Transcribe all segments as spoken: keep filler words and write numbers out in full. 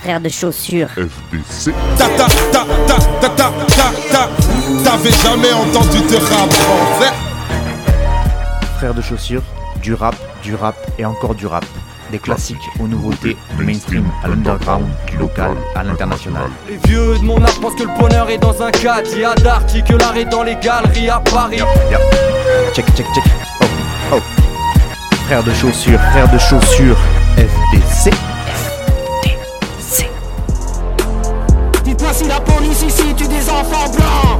frère de chaussures. F D C. Ta ta ta ta ta ta ta ta. T'avais jamais entendu de rap français? Frère de chaussures, du rap, du rap et encore du rap. Des classiques aux nouveautés, du mainstream à l'underground, du local à l'international. Les vieux de mon âge pensent que le bonheur est dans un caddie à Darty, que l'art est dans les galeries à Paris. Yeah, yeah. Check, check, check. Oh, oh. Frère de chaussures, frère de chaussures, F D C. Dites-moi si la police ici tue des enfants blancs.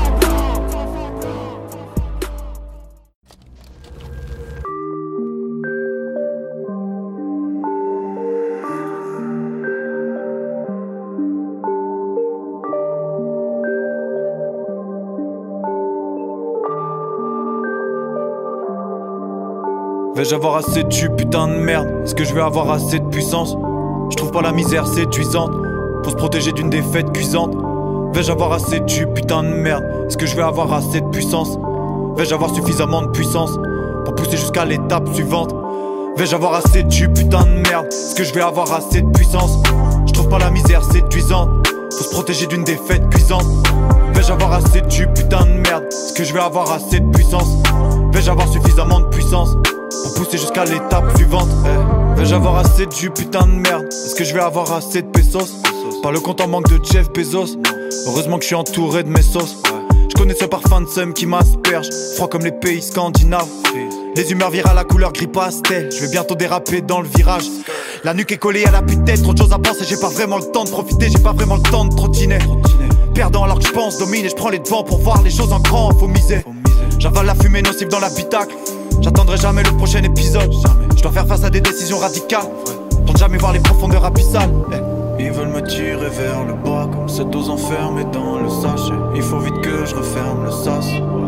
Vais-je avoir assez de tu putain de merde? Est-ce que je vais avoir assez de puissance? Je trouve pas la misère séduisante pour se protéger d'une défaite cuisante. Vais-je avoir assez de tu putain de merde? Est-ce que je vais avoir assez de puissance? Vais-je avoir suffisamment de puissance pour pousser jusqu'à l'étape suivante? Vais-je avoir assez de tu putain de merde? Est-ce que je vais avoir assez de puissance? Je trouve pas la misère séduisante pour se protéger d'une défaite cuisante. Vais-je avoir assez de tu putain de merde? Est-ce que je vais avoir assez de puissance? Vais-je avoir suffisamment de puissance pour pousser jusqu'à l'étape suivante? eh. Vais-je avoir assez de jus putain de merde? Est-ce que je vais avoir assez de pesos? Pas le compte en manque de Jeff Bezos. Heureusement que je suis entouré de mes sauces. Je connais ce parfum de seum qui m'asperge, froid comme les pays scandinaves. Les humeurs virales à couleur gris pastel. Je vais bientôt déraper dans le virage. La nuque est collée à la tête, trop de choses à penser. J'ai pas vraiment le temps de profiter, j'ai pas vraiment le temps de trottiner. Perdant alors que je pense, domine et je prends les devants pour voir les choses en grand, faut miser. J'avale la fumée nocive dans l'habitacle. J'attendrai jamais le prochain épisode. Je dois faire face à des décisions radicales pour ne jamais voir les profondeurs abyssales. Ils veulent me tirer vers le bas comme cette dose enfermée dans le sachet. Il faut vite que je referme le sas.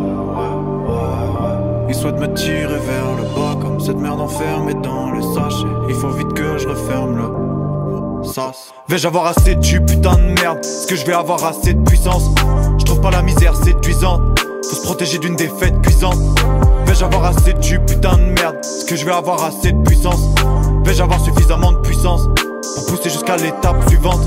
Ils souhaitent me tirer vers le bas comme cette merde enfermée dans le sachet. Il faut vite que je referme le sas. Vais-je avoir assez de tu putain de merde? Est-ce que je vais avoir assez de puissance? Je trouve pas la misère séduisante. Faut se protéger d'une défaite cuisante. Vais-je avoir assez de tu putain de merde? Est-ce que je vais avoir assez de puissance? Vais-je avoir suffisamment de puissance pour pousser jusqu'à l'étape suivante?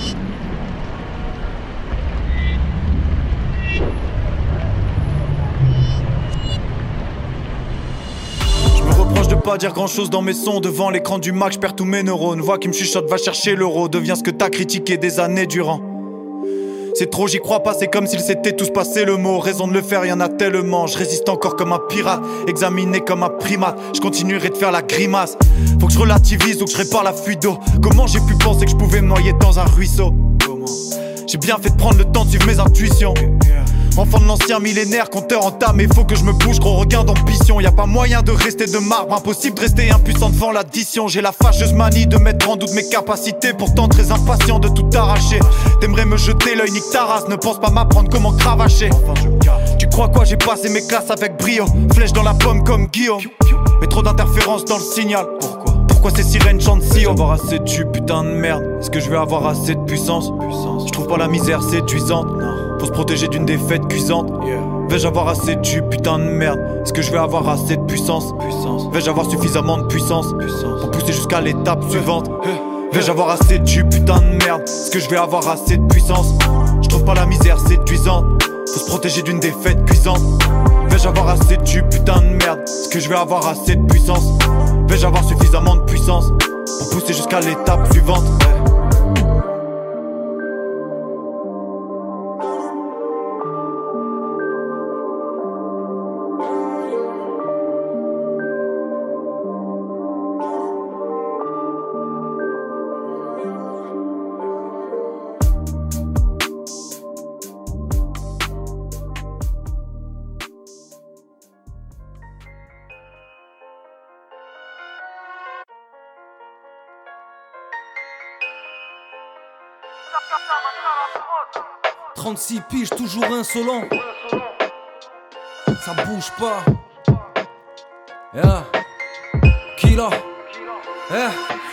Je me reproche de pas dire grand chose dans mes sons. Devant l'écran du Mac, je perds tous mes neurones. Voix qui me chuchote, va chercher l'euro. Deviens ce que t'as critiqué des années durant. C'est trop, j'y crois pas, c'est comme s'ils s'étaient tous passé le mot. Raison de le faire, y'en a tellement. Je résiste encore comme un pirate, examiné comme un primate. Je continuerai de faire la grimace. Faut que je relativise ou que je répare la fuite d'eau. Comment j'ai pu penser que je pouvais me noyer dans un ruisseau? J'ai bien fait de prendre le temps de suivre mes intuitions. Enfant de l'ancien millénaire, compteur en tas, mais faut que je me bouge, gros regain d'ambition. Y'a pas moyen de rester de marbre, impossible de rester impuissant devant l'addition. J'ai la fâcheuse manie de mettre en doute mes capacités, pourtant très impatient de tout arracher. T'aimerais me jeter l'œil, nique ta race, ne pense pas m'apprendre comment cravacher. Tu crois quoi, j'ai passé mes classes avec brio, flèche dans la pomme comme Guillaume. Mais trop d'interférences dans le signal. Pourquoi Pourquoi ces sirènes chantent si haut? Avoir assez de tu putain de merde. Est-ce que je vais avoir assez de puissance? Je trouve pas la misère séduisante. Faut se protéger d'une défaite cuisante. Vais-je avoir assez de tu putain de merde? Est-ce que je vais avoir assez de puissance? Vais-je avoir suffisamment de puissance pour pousser jusqu'à l'étape suivante? Vais-je avoir assez de tu putain de merde? Est-ce que je vais avoir assez de puissance? Je trouve pas la misère séduisante. Faut se protéger d'une défaite cuisante. Vais-je avoir assez de tu putain de merde? Est-ce que je vais avoir assez de puissance? Vais-je avoir suffisamment de puissance pour pousser jusqu'à l'étape suivante? trente-six piges, toujours insolent. Ça bouge pas. Yeah. Killa. Eh.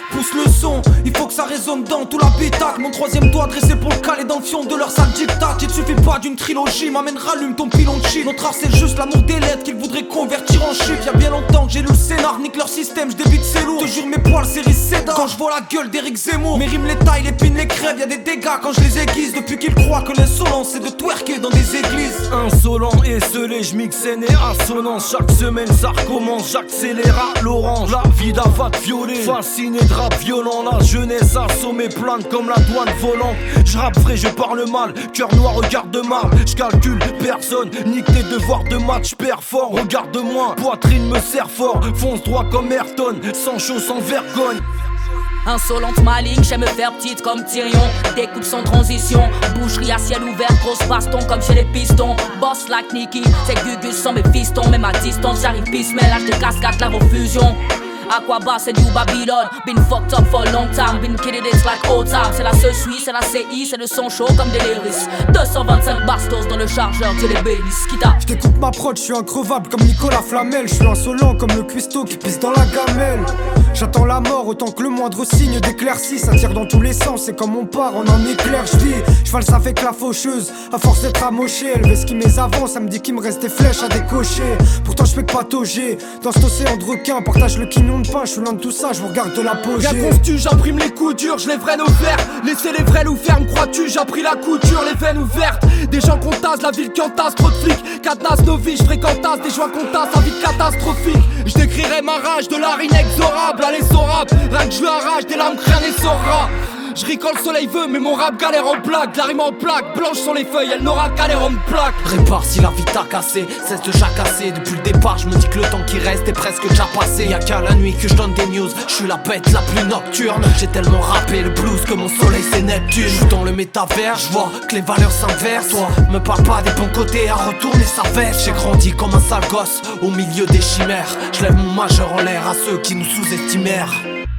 Pousse le son, il faut que ça résonne dans tout l'habitacle. Mon troisième doigt dressé pour le caler dans le fion de leur sale dictat. Il te suffit pas d'une trilogie, m'amène rallume ton pilon de chi. Notre art c'est juste l'amour des lettres qu'ils voudraient convertir en chiffres. Y'a bien longtemps que j'ai lu le scénar, nique leur système, j'débite c'est lourd. Te jure mes poils série Cédar. Quand je vois la gueule d'Éric Zemmour, mes rimes les tailles, les pines, les crèves. Y'a des dégâts quand je les aiguise. Depuis qu'ils croient que l'insolence c'est de twerker dans des églises. Insolent et scellé, j'mixe et assonance. Chaque semaine ça recommence, j'accélère à l'orange. La vie d'avate violée, fasciné de rap violent. La jeunesse assommée, plane comme la douane volante. J'rappe vrai, je parle mal, cœur noir, regard de marbre. J'calcule personne, nique tes devoirs de match, perds fort. Regarde-moi, poitrine me serre fort. Fonce droit comme Ayrton, sans chaud, sans vergogne. Insolente maligne, j'aime me faire petite comme Tyrion. Découpe sans transition, boucherie à ciel ouvert, grosse baston comme chez les pistons. Boss like Nicky, c'est Gugus sans mes fistons. Même à distance, j'arrive pisse, mais lâche de cascade, la vos fusion. Aquaba, c'est du Babylone. Been fucked up for a long time. Been kidding it's like old time. C'est la C S U I, c'est la C I, c'est le son chaud comme des lyrics. deux cent vingt-cinq bastos dans le chargeur, Dieu les bénisse. Kita. J't'écoute ma prod, j'suis increvable comme Nicolas Flamel. J'suis insolent comme le cuistot qui pisse dans la gamelle. J'attends la mort autant que le moindre signe d'éclaircie. Ça tire dans tous les sens, c'est comme on part, on en éclaire. J'vis, cheval ça fait que la faucheuse. À force d'être amoché, elle veut ce qui mes avant. Ça me dit qu'il me reste des flèches à décocher. Pourtant j'fais que patauger. Dans cet océan de requins, partage le quignon de pain. J'suis loin de tout ça, je vous regarde de l'apogée. Rien constu, j'imprime les coups durs, je les vrais nos verts. Laissez les vrais nous fermes, crois-tu, j'ai appris la couture, les veines ouvertes. Des gens qu'on tasse, la ville qui entasse, trop de flics. Cadenas nos vies, j'fréquentasse, des joints qu'on tasse, la vie catastrophique. J'décrirai ma rage de l'art inexorable, allez sorable. Rien que je lui arrache, des lames crânes et saura. Je ris quand le soleil veut, mais mon rap galère en plaque. La rime en plaque, blanche sur les feuilles, elle n'aura qu'à l'air en plaque. Répare si la vie t'a cassé, cesse de jacasser. Depuis le départ, je me dis que le temps qui reste est presque déjà passé. Y'a qu'à la nuit que je donne des news, je suis la bête la plus nocturne. J'ai tellement rappé le blues que mon soleil c'est Neptune. J'suis dans le métavers, je vois que les valeurs s'inversent. Toi, me parle pas des bons côtés à retourner sa veste. J'ai grandi comme un sale gosse au milieu des chimères. Je lève mon majeur en l'air à ceux qui nous sous-estimèrent.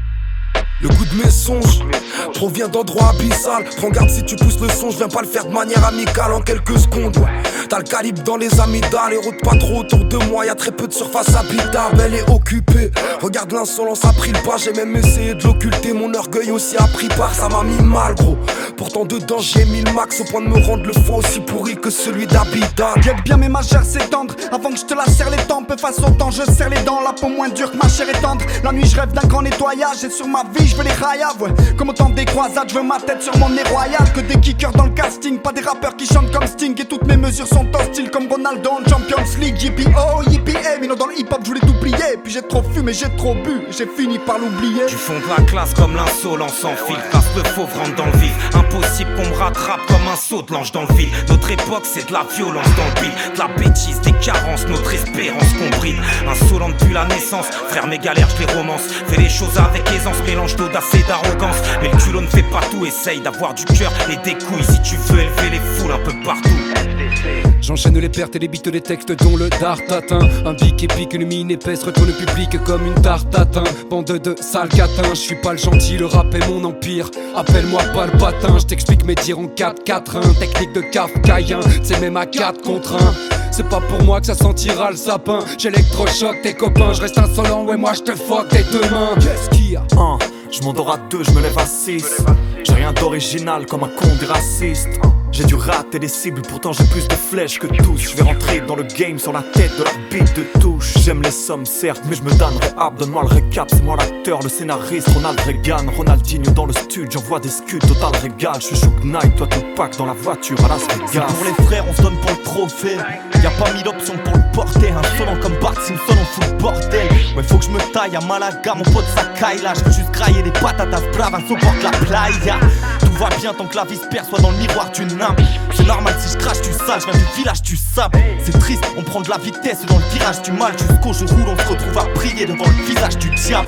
Le goût de mes songes provient d'endroits abyssales. Prends garde si tu pousses le son, je viens pas le faire de manière amicale en quelques secondes. T'as le calibre dans les amygdales et rôde pas trop autour de moi. Y'a très peu de surface habitable, elle est occupée. Regarde l'insolence a pris le pas, j'ai même essayé de l'occulter. Mon orgueil aussi a pris part, ça m'a mis mal gros. Pourtant dedans j'ai mis le max au point de me rendre le foie aussi pourri que celui d'Abidal. Guette bien mes magères s'étendre avant que je te la serre les tempes. Face au temps je serre les dents, la peau moins dure que ma chair est tendre. La nuit je rêve d'un grand nettoyage et sur ma vie je veux les raillaves, ouais. Comme autant des croisades, je veux ma tête sur mon nez royal. Que des kickers dans le casting, pas des rappeurs qui chantent comme Sting. Et toutes mes mesures sont hostiles comme Ronaldo en Champions League. Yippee oh, yippee hey, mais non dans le hip hop je voulais tout plier. Puis j'ai trop fumé, j'ai trop bu, j'ai fini par l'oublier. Du fond de la classe comme l'insolence sans fil. Casse le fauve, rentre dans le vif. Impossible qu'on me rattrape comme un saut de l'ange dans le vide. Notre époque c'est de la violence dans le beat. De la bêtise, des carences, notre espérance qu'on brille. Insolent depuis la naissance, frère mes galères je les romance. Fais les choses avec aisance, mélange d'audace et d'arrogance. Mais le culot ne fait pas tout, essaye d'avoir du cœur et des couilles si tu veux élever les foules un peu partout. J'enchaîne les pertes et les bites des textes dont le dart atteint. Un bic épique, une mine épaisse retourne le public comme une tarte atteint. Bande de sales catins, je suis pas le gentil, le rap est mon empire. Appelle-moi pas le patin, je t'explique mes dires en quatre quatre un. Technique de kafkaïen, c'est même à quatre contre un. C'est pas pour moi que ça sentira le sapin. J'électrochoque tes copains, je reste insolent, ouais moi je te fuck tes deux mains. Qu'est-ce qu'il y a? Un, je m'endors à deux, je me lève à six. J'ai rien d'original comme un con des racistes. J'ai dû rater des cibles, pourtant j'ai plus de flèches que tous. Je vais rentrer dans le game sur la tête de la bite de touche. J'aime les sommes certes, mais je me donnerai hâte. Donne-moi le récap, c'est moi l'acteur, le scénariste. Ronald Reagan, Ronaldinho dans le studio, j'envoie des scuds, total régal. Je suis Shook Knight, toi Tupac dans la voiture à Las Vegas. Pour les frères, on se donne pour le trophée. Y'a pas mille options pour le porter. Insolent comme Bart Simpson, on fout le bordel. Ouais, faut que je me taille à Malaga, mon pote ça caille là. J'veux juste grailler des patatas braves, un supporte la playa. Tout va bien tant que la vie se perçoit dans le miroir d'une âme. C'est normal si je crache du sale, je viens du village du sable. C'est triste, on prend de la vitesse dans le virage du mal. Jusqu'au jour où l'on se retrouve à prier devant le visage du diable.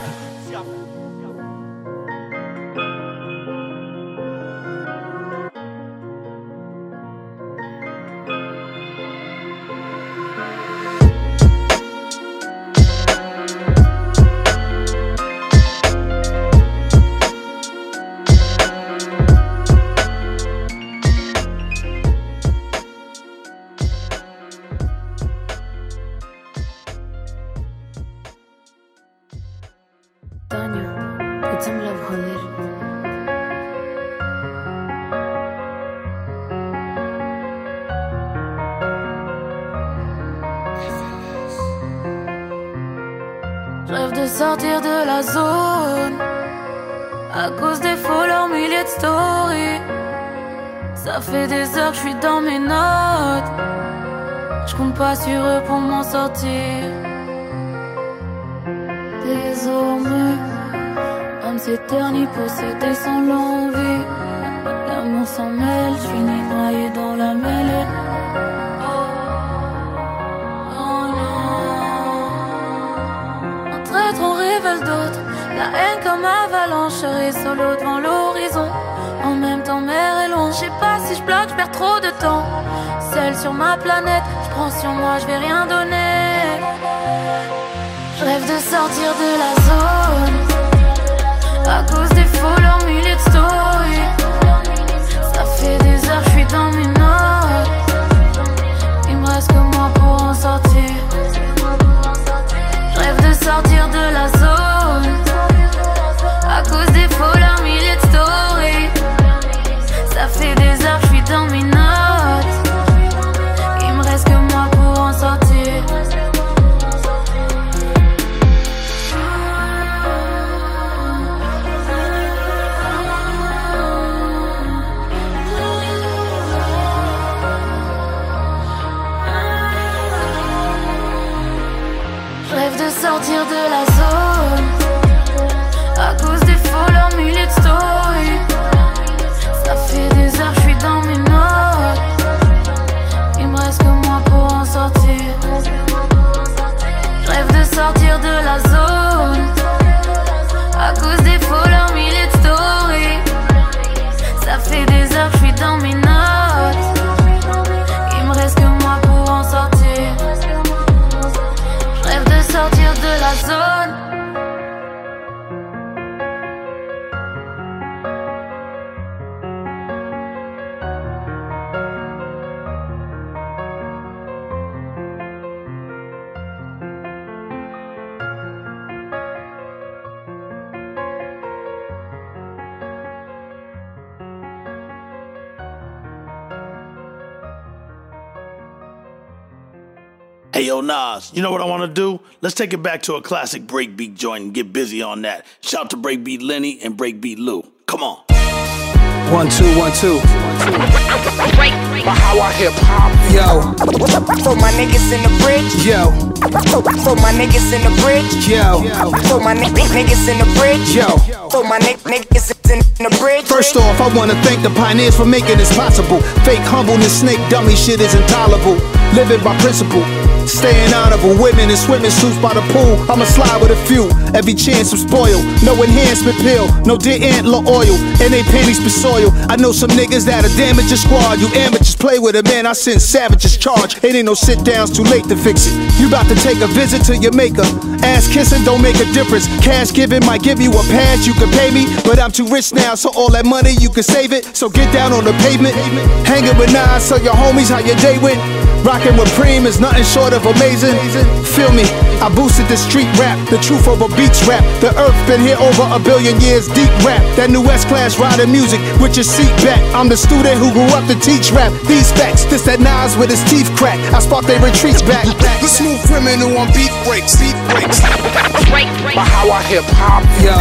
de sortir de la zone à cause des followers, milliers de stories. Ça fait des heures que je suis dans mes notes. Je compte pas sur eux pour m'en sortir. Désormais, l'âme s'éternit possédée sans l'envie. L'amour s'en mêle, je finis noyé dans la mêlée. On révèle d'autres, la haine comme avalanche. Je serai solo devant l'horizon, en même temps mer est loin. Je sais pas si je bloque, je perds trop de temps. Seule sur ma planète, je prends sur moi, je vais rien donner. Je rêve de sortir de la zone à cause des followers, milliers de stories. Ça fait des heures, je suis dans mes notes. Il me reste que moi pour en sortir. Rêve de sortir de la zone à cause des followers, milliers de stories. Ça fait des heures que je suis dans mes notes. Il me reste que moi pour en sortir. Sortir de la zone à cause des followers, milliers de stories. Ça fait des heures que je suis dans mes notes. Il me reste que moi pour en sortir. Je rêve de sortir de la zone à cause des followers, milliers de stories. Ça fait des heures que je suis dans mes notes. Il me reste que moi pour en sortir. Rêve de sortir de la zone. Hey, yo, Nas, you know what I want to do? Let's take it back to a classic breakbeat joint and get busy on that. Shout to Breakbeat Lenny and Breakbeat Lou. Come on. One, two, one, two. How I hip hop, yo. For my niggas in the bridge, yo. For my niggas in the bridge, yo. For my n- niggas in the bridge, yo. For my n- niggas in the bridge. First off, I wanna thank the pioneers for making this possible. Fake humbleness, snake dummy shit is intolerable. Living by principle. Staying honorable, women in swimming suits by the pool. I'ma slide with a few, every chance I'm spoiled. No enhancement pill, no deer antler oil, and they panties be soiled. I know some niggas that'll damage your squad. You amateurs play with it, man, I send savages charge. It ain't no sit downs, too late to fix it. You about to take a visit to your maker. Ass kissing don't make a difference. Cash giving might give you a pass, you can pay me, but I'm too rich now, so all that money you can save it. So get down on the pavement, hanging with Nas, so your homies how your day went. Rockin' with Preem is nothing short of amazing. Feel me, I boosted the street rap, the truth over beats rap. The earth been here over a billion years, deep rap. That new S-Class riding music with your seat back. I'm the student who grew up to teach rap. These facts, this that Nas with his teeth crack. I spark they retreats back. The smooth criminal on beat breaks, beat breaks. But how I hip hop, yo.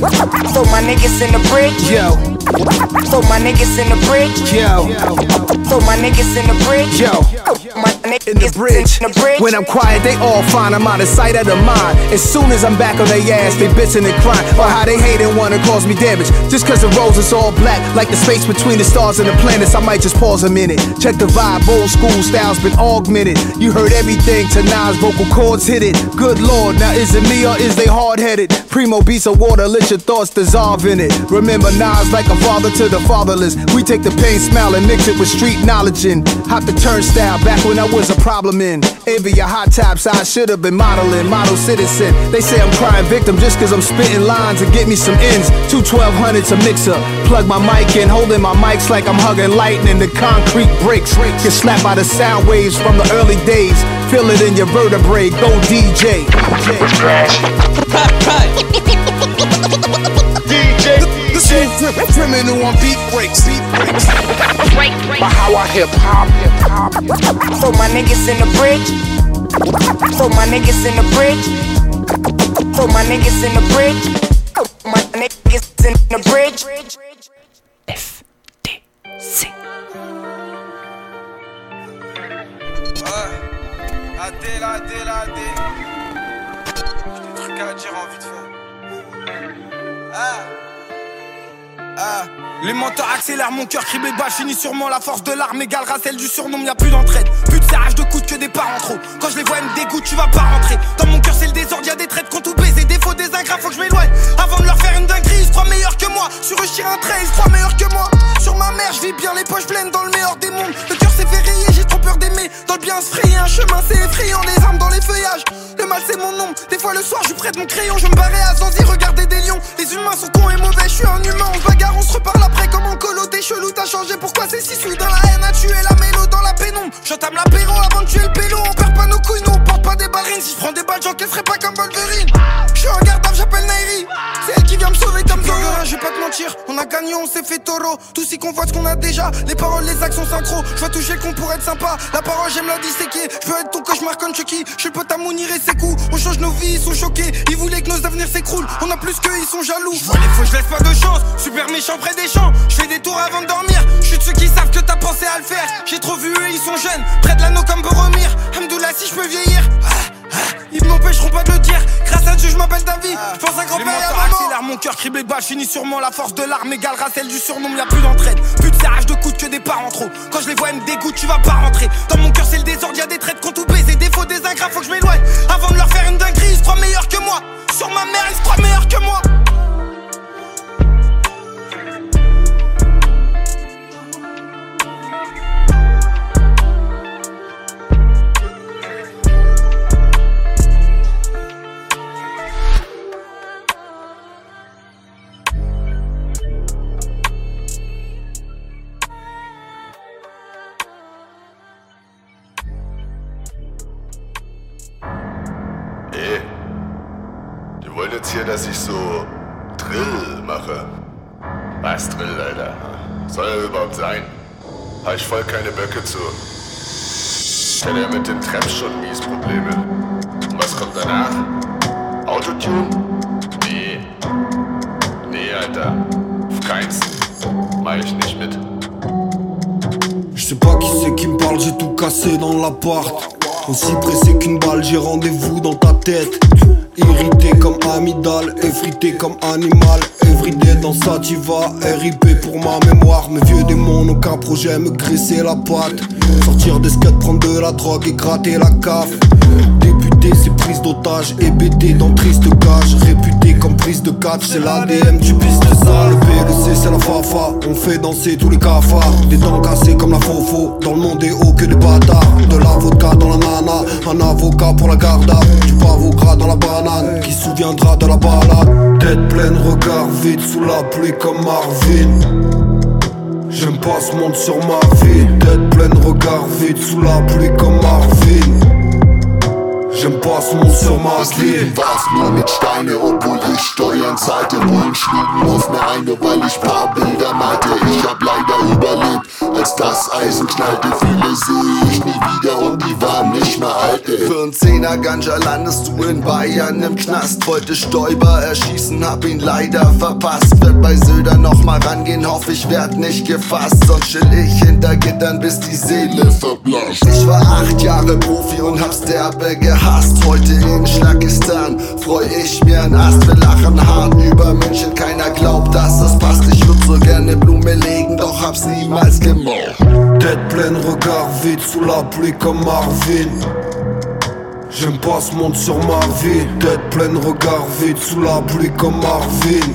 For my niggas in the bridge, yo. For my niggas in the bridge, yo. For my niggas in the bridge, yo. My niggas in the bridge. in the bridge. When I'm quiet, they all fine. I'm out of sight, out of mind. As soon as I'm back on their ass, they bitching and crying. Or how they hate and wanna cause me damage. Just cause the rose is all black, like the space between the stars and the planets. I might just pause a minute. Check the vibe, old school style's been augmented. You heard everything to Nas, vocal cords hit it. Good lord, now is it me or is they hard-headed? Primo beats of water, let your thoughts dissolve in it. Remember Nas like a father to the fatherless. We take the pain, smile, and mix it with street knowledge and hop the turnstile back when I was a problem in. Envy your hot tops, I should've been modeling, model citizen. They say I'm crying victim just cause I'm spitting lines and get me some ends. Two twelve hundreds a mixer, plug my mic in, holding my mics like I'm hugging lightning. The concrete breaks, get slapped by the sound waves from the early days. Feel it in your vertebrae, go D J. D J, the smooth criminal on beat breaks, beat breaks. But how I hip hop, hip hop. For my niggas in the bridge, for my niggas in the bridge, For my niggas in the bridge. My niggas in the bridge. F T C. A D, la D, la D. J'ai des trucs à dire en vite fait. Ah. Ah. Les menteurs accélèrent, mon cœur crie bas, finit sûrement la force de l'arme égalera celle du surnom, y'a plus d'entraide, plus de serrage de coude que des parents trop. Quand je les vois, elles me dégoûtent, tu vas pas rentrer. Dans mon cœur, c'est le désordre, y'a des traits qu'on tout baise, des faux, des ingrats, faut que je m'éloigne. Avant de leur faire une dinguerie, ils se croient meilleurs que moi. Sur eux, je tire un trait, ils se croient meilleurs que moi. Sur ma mère, je vis bien, les poches pleines dans le meilleur des mondes. Le cœur s'est fait rayer, j'ai trop peur d'aimer. Dans le bien se frayer, un chemin c'est effrayant, les armes dans les feuillages. Le mal c'est mon nom, des fois le soir, je prête mon crayon. Je me barrais à Zanzi, regarder des lions. Les humains sont cons et mauvais, je suis un humain, on se bagarre, on se reparle après comme en colo. T'es chelou, t'as changé, pourquoi c'est si soudain? La haine a tué la mélo dans la pénombre. J'entame l'apéro avant de tuer le pélo. On perd pas nos couilles, nous on porte pas des ballerines. Si je prends des balles, j'encaisserai pas comme Wolverine. Je suis un gardable, j'appelle Nairi. C'est elle qui vient me sauver comme Zoro. Je vais pas te mentir, on a gagné, on s'est fait taureau. Tous si qu'on voit ce qu'on a déjà. Les paroles, les actions synchro. Je vais toucher qu'on pourrait être sympa. La parole, j'aime la disséquer. Je veux être ton cauchemar comme Chucky. Je suis le pote à Mounir et ses coups. On change nos vies, ils sont choqués. Ils voulaient que nos avenirs s'écroulent. On a plus qu'eux, ils sont jaloux. Je vois les faux, je laisse pas de chance. Super méchant près des champs. Je fais des tours avant de dormir. Je suis de ceux qui savent que t'as pensé à le faire. J'ai trop vu eux, ils sont jeunes. Près de l'anneau comme Boromir. Hamdoullah, si je peux vieillir. Ils m'empêcheront pas de le dire. Grâce à Dieu, je m'appelle David. Je pense à grand-père et à maman. Accélère, mon cœur criblé bas. Finis sûrement la force de l'arme égalera celle du surnom. Y'a plus d'entraide, plus de serrage de coude que des parents trop. Quand je les vois, elles me dégoûtent, tu vas pas rentrer. Dans mon cœur, c'est le désordre, y'a des traits qu'on tout baise. Des faux, des ingrats, faut que je m'éloigne. Avant de leur faire une dinguerie, ils se croient meilleurs que moi. Sur ma mère, ils se croient meilleurs que moi. Hier, dass ich so Drill mache. Was Drill, Alter? Soll er überhaupt sein? Hab ich voll keine Böcke zu. Ich hatte ja mit dem Trap schon mies Probleme. Und was kommt danach? Autotune? Nee. Nee, Alter. Auf keins. Mach ich nicht mit. Je sais pas qui c'est qui me parle, j'ai tout cassé dans l'appart. Aussi pressé qu'une balle, j'ai rendez-vous dans ta tête. Irrité comme amygdale, effrité comme animal. Everyday dans sa diva, R I P pour ma mémoire. Mes vieux démons, aucun projet, me graisser la patte. Sortir des skates, prendre de la drogue et gratter la caf. Débuter c'est prise d'otage, hébété dans triste cage. Réputé comme prise de catch, c'est l'A D M du piste sale. Le B, le C c'est la fafa, on fait danser tous les cafards. Des dents cassées comme la fofo, dans le monde des hauts que des bâtards. De la vodka dans la nana, un avocat pour la garda. Du pavot gras dans la banane, qui se souviendra de la balade. Tête pleine, regard vide, sous la pluie comme Marvin. J'aime pas ce monde sur ma vie. Tête pleine, regard vide, sous la pluie comme Marvin. J'aime pas ce monde sur ma Das Leben war's nur mit Steine, obwohl ich Steuern zahlte. Bullen schlugen auf mir eine, weil ich paar Bilder malte. Ich hab leider überlebt, als das Eisen knallte. Viele sehe ich nie wieder und die waren nicht mehr alte. Für n Zehner Ganja landest du in Bayern im Knast. Wollte Stoiber erschießen, hab ihn leider verpasst. Werd bei Söder noch mal rangehen, hoff ich werd nicht gefasst. Sonst chill ich hinter Gittern, bis die Seele verblasst. Ich war acht Jahre Profi und hab's derbe gehasst. Heute in Schlagistan freu ich mir ein Ast. Wir lachen hart über München, keiner glaubt, dass das passt. Ich würd so gerne Blume legen, doch hab's niemals gemacht. Tête pleine, regard vide, sous la pluie comme Marvin. J'aime pas ce monde sur ma vie. Tête pleine, regard vide, sous la pluie comme Marvin.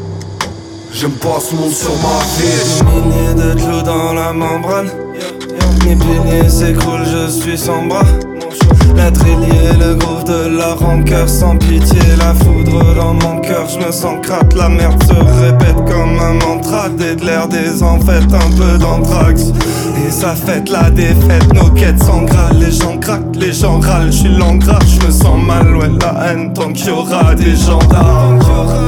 J'aime pas ce monde sur ma vie. Milliers de clous dans la membrane. Mes piliers s'écroulent, je suis sans bras. L'être est lié, le groove de la rancœur. Sans pitié, la foudre dans mon cœur. Je me sens crate, la merde se répète comme un mantra. Des de l'air, des en fait, un peu d'anthrax. Et ça fête la défaite, nos quêtes s'engravent. Les gens craquent, les gens râlent, je suis l'engras. Je me sens mal, ouais, la haine, tant qu'il y aura des gendarmes.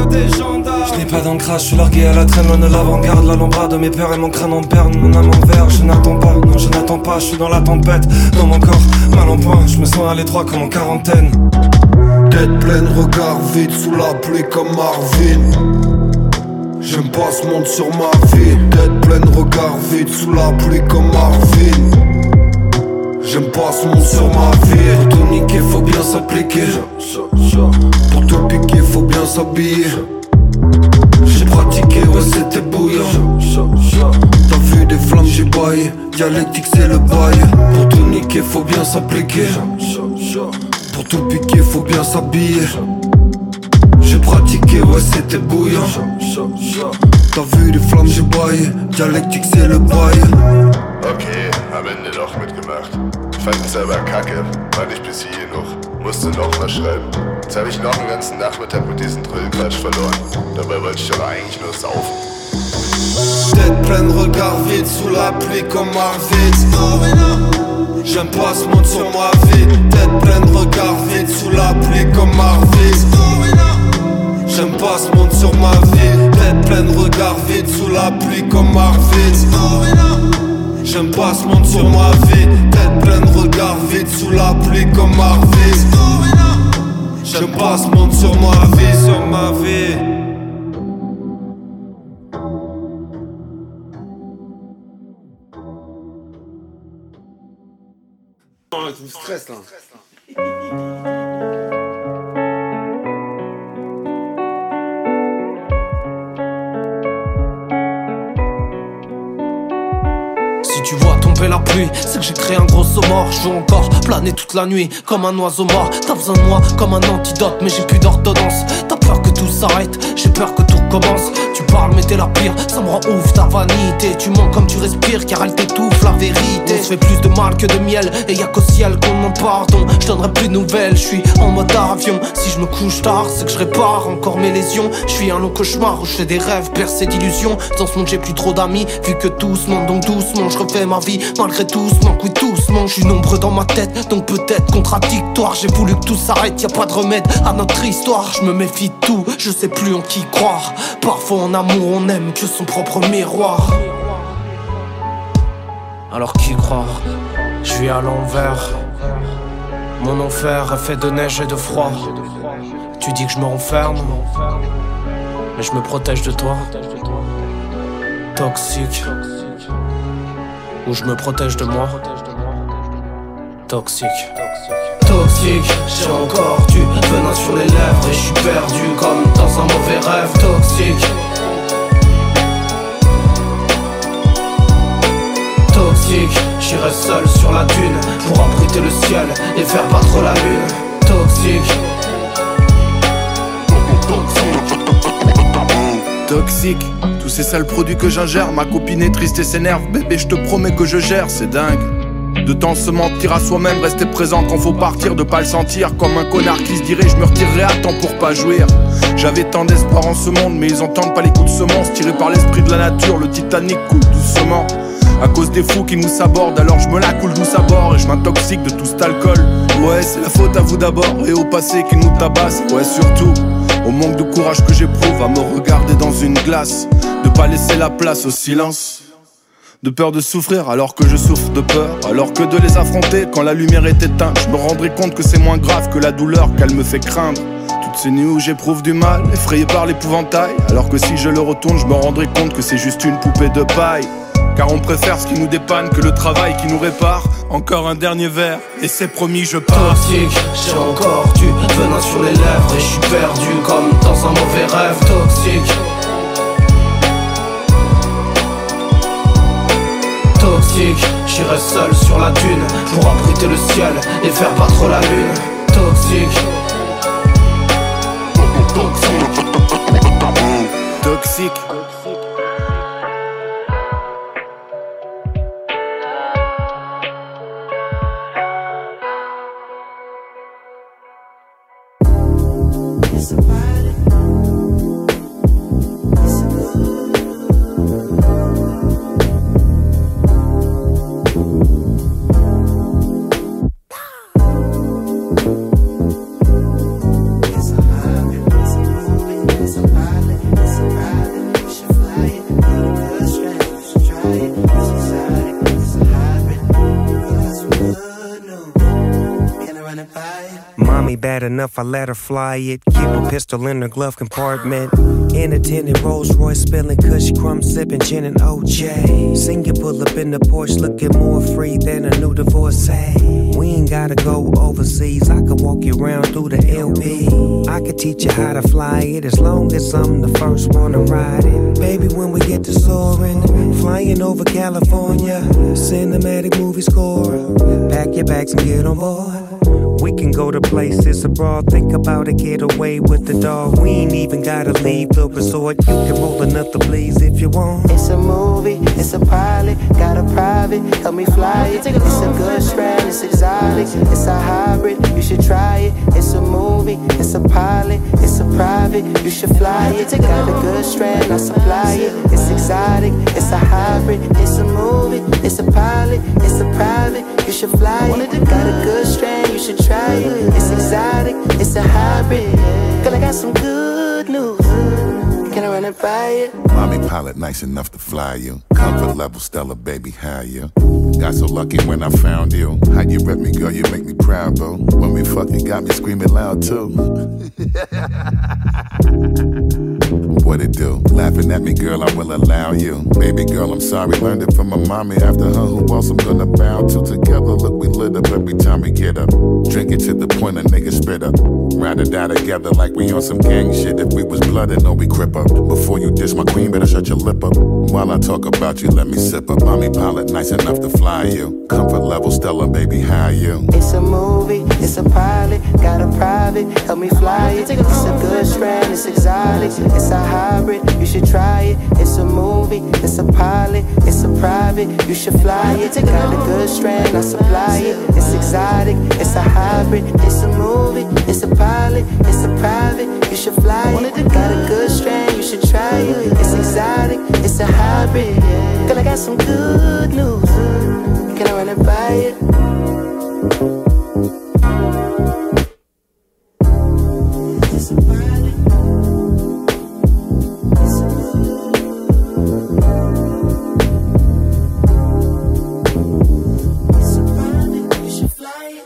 Je n'ai pas d'ancrage, je suis largué à la traîne, loin de l'avant-garde. La lombrade de mes peurs et mon crâne en berne. Mon âme en verre, je n'attends pas, non je n'attends pas. Je suis dans la tempête, dans mon corps, mal en point. Je me sens à l'étroit comme en quarantaine. Tête pleine, regard vide, sous la pluie comme Marvin. J'aime pas ce monde sur ma vie. Tête pleine, regard vide, sous la pluie comme Marvin. J'aime pas ce monde sur ma vie. Pour tout niquer, faut bien s'appliquer. Pour tout piquer, faut bien s'habiller. J'ai pratiqué, ouais c'était bouillant. T'as vu des flammes, j'ai baillé. Dialectique c'est le bail. Pour tout niquer, faut bien s'appliquer. Pour tout piquer, faut bien s'habiller. J'ai pratiqué, ouais c'était bouillant. T'as vu des flammes, j'ai baillé. Dialectique c'est le bail. Okay, am Ende doch mitgemacht. Fand es aber kacke, fand ich bis hier noch. Musste noch mal schreiben. Jetzt hab ich noch den ganzen Nachmittag mit diesem Drillquatsch verloren. Dabei wollte ich aber eigentlich nur saufen. Tête pleine, regard vide, sous la pluie comme Marvin. J'aime pas ce monde sur ma vie. Tête pleine, regard vide, sous la pluie comme Marvin. J'aime pas ce monde sur ma vie. Tête pleine, regard vide, sous la pluie comme Marvin. J'aime pas ce monde sur ma vie. Tête pleine, regard vide, sous la pluie comme Marvin. J'aime pas ce monde sur ma vie, sur ma vie. Tu me stresses là. Si tu vois tomber la pluie, c'est que j'ai créé un gros saut mort. Je veux encore planer toute la nuit comme un oiseau mort. T'as besoin de moi comme un antidote, mais j'ai plus d'ordonnance. T'as peur que tout s'arrête, j'ai peur que tout recommence. Tu parles mais t'es la pire, ça me rend ouf ta vanité. Tu mens comme tu respires car elle t'étouffe la vérité. On se fait plus de mal que de miel et y'a qu'au ciel qu'on demande pardon. Je donnerai plus de nouvelles, je suis en mode avion. Si je me couche tard, c'est que je répare encore mes lésions. Je suis un long cauchemar où je fais des rêves percés d'illusions. Dans ce monde j'ai plus trop d'amis, vu que tous mentent donc doucement. Je refais ma vie malgré tout ce manque, oui doucement. Je suis nombreux dans ma tête, donc peut-être contradictoire. J'ai voulu que tout s'arrête, y'a pas de remède à notre histoire. Je me méfie de tout, je sais plus en qui croire. Parfois en amour on n'aime que son propre miroir. Alors qui croire? Je vis à l'envers. Mon enfer est fait de neige et de froid. Tu dis que je me renferme, mais je me protège de toi. Toxique. Ou je me protège de moi. Toxique. Toxique, j'ai encore du venin sur les lèvres et je suis perdu comme dans un mauvais rêve. Toxique. Toxique, j'irai seul sur la dune pour abriter le ciel et faire battre la lune. Toxique. Toxique, tous ces sales produits que j'ingère. Ma copine est triste et s'énerve. Bébé, je te promets que je gère, c'est dingue. De temps se mentir à soi-même, rester présent quand faut partir, de pas le sentir comme un connard qui se dirait je me retirerai à temps pour pas jouir. J'avais tant d'espoir en ce monde, mais ils entendent pas les coups de semence. Tiré par l'esprit de la nature, le Titanic coule doucement. À cause des fous qui nous sabordent, alors je me la coule douce à bord et je m'intoxique de tout cet alcool. Ouais, c'est la faute à vous d'abord et au passé qui nous tabasse. Ouais, surtout au manque de courage que j'éprouve à me regarder dans une glace, de pas laisser la place au silence. De peur de souffrir alors que je souffre de peur. Alors que de les affronter quand la lumière est éteinte, je me rendrai compte que c'est moins grave que la douleur qu'elle me fait craindre. Toutes ces nuits où j'éprouve du mal, effrayé par l'épouvantail. Alors que si je le retourne, je me rendrai compte que c'est juste une poupée de paille. Car on préfère ce qui nous dépanne que le travail qui nous répare. Encore un dernier verre et c'est promis je pars. Toxique, j'ai encore du venin sur les lèvres et je suis perdu comme dans un mauvais rêve. Toxique. Toxique, j'irai seul sur la dune pour abriter le ciel et faire battre la lune. Toxique. Toxique. Toxique. run it by you? Mommy bad enough, I let her fly it. Keep a pistol in her glove compartment. In a tinted Rolls Royce, spilling cushy crumb, sipping gin and O J. Seen you pull up in the Porsche, looking more free than a new divorcee. We ain't gotta go overseas, I can walk you around through the L B. I can teach you how to fly it, as long as I'm the first one to ride it. Baby, when we get to soaring, flying over California, cinematic movie score. Pack your bags and get on board. We can go to places abroad, think about a getaway with the dog. We ain't even gotta leave the resort. You can roll another please if you want. It's a movie, it's a pilot, got a private, help me fly it. It's a good strand, it's exotic, it's a hybrid, you should try it. It's a movie, it's a pilot, it's a private, you should fly it. Got a good strand, I supply it. It's exotic, it's a hybrid, it's a movie, it's a pilot, it's a private, you should fly it. Got a good strand, you should try it. It's exotic, it's a hybrid. Girl, I got some good news. Can I run it by it? Mommy pilot nice enough to fly you. Comfort level stellar, baby, how you? Got so lucky when I found you. How you rep me, girl, you make me proud, bro. When we fuck, you got me screaming loud, too. What it do? Laughing at me, girl, I will allow you. Baby girl, I'm sorry, learned it from my mommy. After her, who else I'm gonna bow to? Together, look, we lit up every time we get up. Drink it to the point a nigga spit up. Ride or die together like we on some gang shit. If we was blooded, no, we crip up. Before you diss my queen, better shut your lip up. While I talk about you, let me sip up. Mommy pilot, nice enough to fly you. Comfort level stellar, baby, how you? It's a movie, it's a pilot, got a private, help me fly it. It's a good strand, it's exotic, it's a hybrid, you should try it. It's a movie, it's a pilot, it's a private, you should fly it. Got a good strand, I supply it. It's exotic, it's a hybrid, it's a movie, it's a pilot, it's a private, you should fly it. Got a good strand, you should try it. It's exotic, it's a hybrid. Girl, I got some good news. Can I run it by it? It's a pilot. It's a It's a pilot, you should fly it.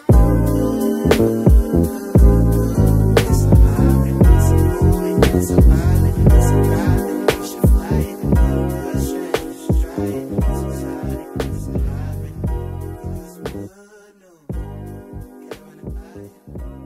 It's a hybrid, it's a movie, it's a pilot, it's a private, you should fly it. Good strand, you should try it. It's exotic, it's a hybrid. It's good news. Can I run it by it?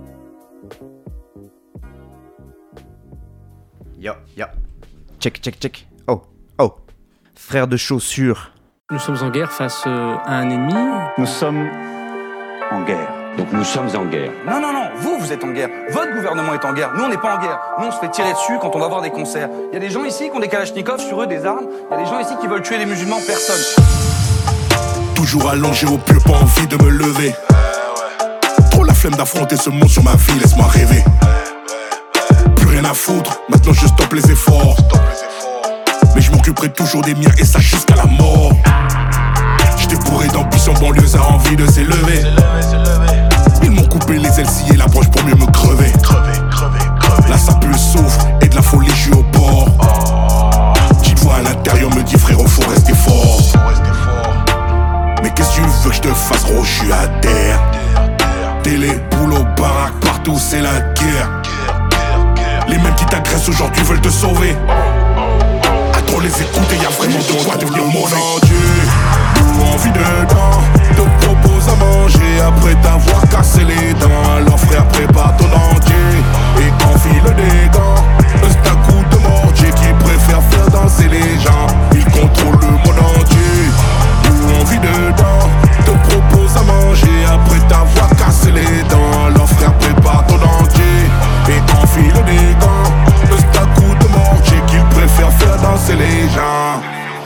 Yo, yo. Check, check, check. Oh, oh. Frère de chaussures. Nous sommes en guerre face euh, à un ennemi. Nous sommes en guerre. Donc nous sommes en guerre. Non, non, non, vous, vous êtes en guerre. Votre gouvernement est en guerre. Nous, on n'est pas en guerre. Nous, on se fait tirer dessus quand on va voir des concerts. Il y a des gens ici qui ont des kalachnikovs sur eux, des armes. Il y a des gens ici qui veulent tuer les musulmans. Personne. Toujours allongé au pieu, pas envie de me lever. Trop la flemme d'affronter ce monde sur ma vie, laisse-moi rêver. Plus rien à foutre, maintenant je stoppe les efforts. Mais je m'occuperai toujours des miens et ça jusqu'à la mort. J'étais bourré d'ambition, banlieuse a envie de s'élever. Ils m'ont coupé les ailes, scié la broche pour mieux me crever. Là ça pue le souffle et de la folie, je suis au bord. Petite voix à l'intérieur me dit frérot, faut rester fort. Mais qu'est-ce que tu veux que je te fasse, gros, je suis à terre. Télé, boulot, baraque, partout c'est la guerre. Les mêmes qui t'agressent aujourd'hui veulent te sauver. À trop les écouter, y'a vraiment de quoi devenir mauvais. Nous envie dedans, te propose à manger après t'avoir cassé les dents. Alors frère, prépare ton entier et enfile des gants. C'est un coup de mortier qui préfère faire danser les gens. Il contrôle le monde entier. Nous envie dedans, te propose à manger après t'avoir cassé les dents. Alors frère, prépare ton entier et enfile des gants. C'est un coup de mortier qu'il préfère faire danser les gens.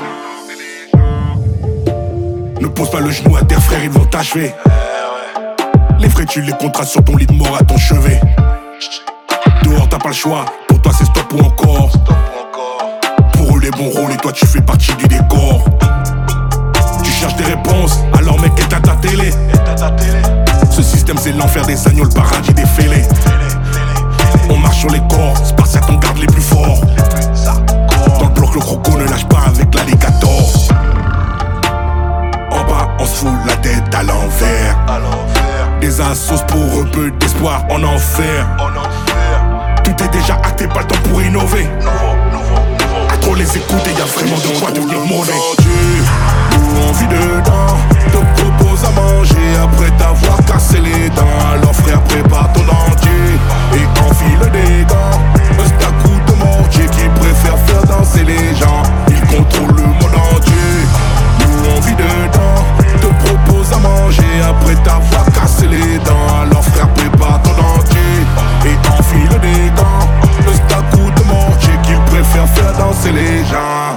Ne pose pas le genou à terre frère, ils vont t'achever. Les vrais tu les contrats sur ton lit de mort à ton chevet. Dehors t'as pas le choix, pour toi c'est stop ou encore. Pour eux les bons rôles et toi tu fais partie du décor. Tu cherches des réponses, alors mec éteins ta télé. Ce système c'est l'enfer des agneaux, le paradis des fêlés. On marche sur les corps, Spartiate on garde les plus forts. Dans le bloc le croco ne lâche pas avec l'alligator. En bas on se fout la tête à l'envers. Des les assos, pour eux peu d'espoir en enfer. Tout est déjà acté, pas le temps pour innover. À trop les écouter, y'a vraiment de quoi devenir mauvais. Nous on vit dedans, te propose à manger après t'avoir cassé les dents. Alors frère, prépare ton dentier et enfile des gants. C'est un coup de mortier qui préfère faire danser les gens. Il contrôle le monde entier. Nous on vit dedans, te propose à manger après t'avoir cassé les dents. Alors frère, prépare ton dentier et enfile des gants. C'est un coup de mortier qu'il préfère faire danser les gens.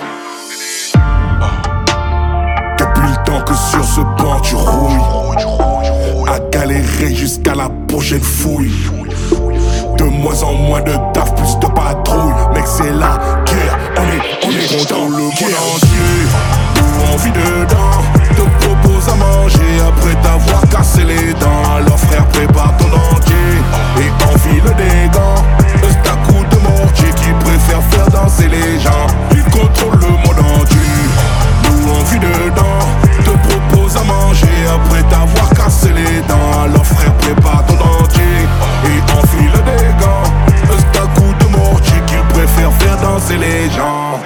Depuis le temps que sur ce banc tu rouilles, à galérer jusqu'à la prochaine fouille. De moins en moins de taf, plus de patrouille. Mec c'est la guerre, on est, on est content le monde entier. Nous on vit dedans, te propose à manger après t'avoir cassé les dents. Alors frère prépare ton dentier et enfile des gants. C'est un coup de mortier qui préfère faire danser les gens. Il contrôle le monde entier. Nous on vit dedans, te propose à manger après t'avoir cassé les dents. Alors frère prépare ton dentier et enfile des gants. C'est un coup de mortier qu'il préfère faire danser les gens.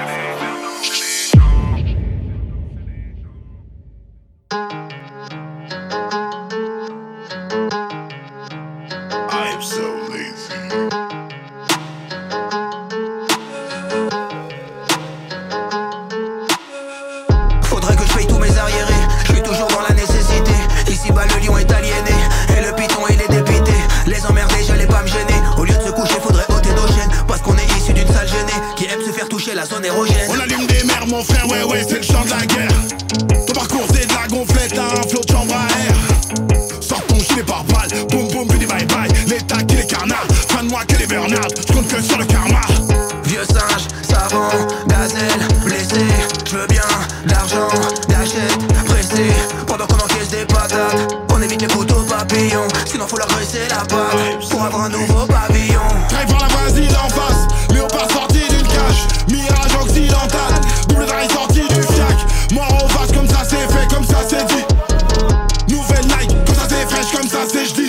I'm so lazy. Faudrait que je paye tous mes arriérés. Je suis toujours dans la nécessité. Ici bas le lion est aliéné et le python il est dépité. Les emmerder j'allais pas me gêner. Au lieu de se coucher faudrait ôter nos chaînes. Parce qu'on est issu d'une sale gênée qui aime se faire toucher la zone érogène. On allume des mers mon frère, ouais ouais c'est le chant de la guerre. Ton parcours c'est de la gonflette, t'as un flot de chambre à air. Sors ton gilet par balle, boum boum bidi bye bye. L'état qui les carnards, fin de moi que les burn-out. J'compte que sur le karma. Vieux singe, savant, gazelle, blessé. J'veux bien l'argent, d'achète, pressé. Pendant qu'on encaisse des patates, on évite les poteaux papillons. Sinon faut leur graisser la patte pour avoir un nouveau pavillon. Drive par la voisine d'en face, léopard sorti d'une cage. Mirage occidental, double drive sorti du fiac. Mort au face comme ça c'est fait, comme ça c'est dit. Nouvelle Nike, comme ça c'est fraîche, comme ça c'est j'dit.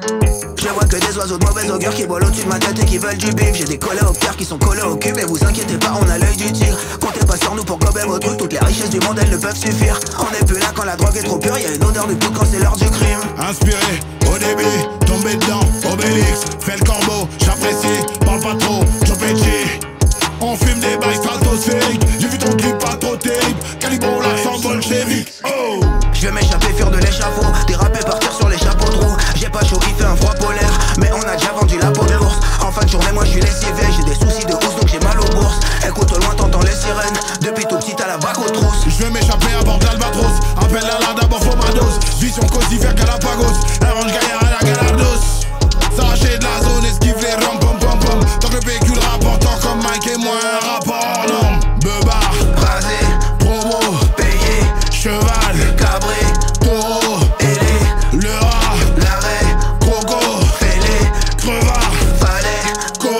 Je vois que des oiseaux de mauvaise augure qui volent au-dessus de ma tête et qui veulent du bif. J'ai des coléoptères qui sont collés au cul. Mais vous inquiétez pas, on a l'œil du tigre. Comptez pas sur nous pour gober vos trucs. Toutes les richesses du monde elles ne peuvent suffire. On est plus là quand la drogue est trop pure. Y'a une odeur du poudre quand c'est l'heure du crime. Inspiré au début, tombé dedans, Obélix. Fais le corbeau, j'apprécie, parle pas trop, Joe Pesci. On fume des bails stratosphériques. J'ai vu ton clip pas trop terrible. Calibro l'accent bolchevique. Oh, je vais m'échapper, fuir de l'échafaud. Déraper, partir sur les chapeaux de roue. J'ai pas chaud, il fait un froid polaire. Mais on a déjà vendu la peau de l'ours. En fin de journée, moi je suis lessivé. J'ai des soucis de housse donc j'ai mal aux bourses. Écoute au loin, t'entends les sirènes. Depuis tout petit, t'as la bague aux trousses. je vais m'échapper à bord de l'Albatros. Appelle à la d'abord, faut ma dose. Vision cosy vers Galapagos. Arrange gaillard à la Galardos. S'arracher de la zone, esquive les ram pom pom pom. Tant que le véhicule rapportant comme Mike et moi un rapport non. Beubard, rasé, promo, payé, cheval, cabré, taureau, ailé, le rat, l'arrêt, croco, fêlé, crevard, fallait,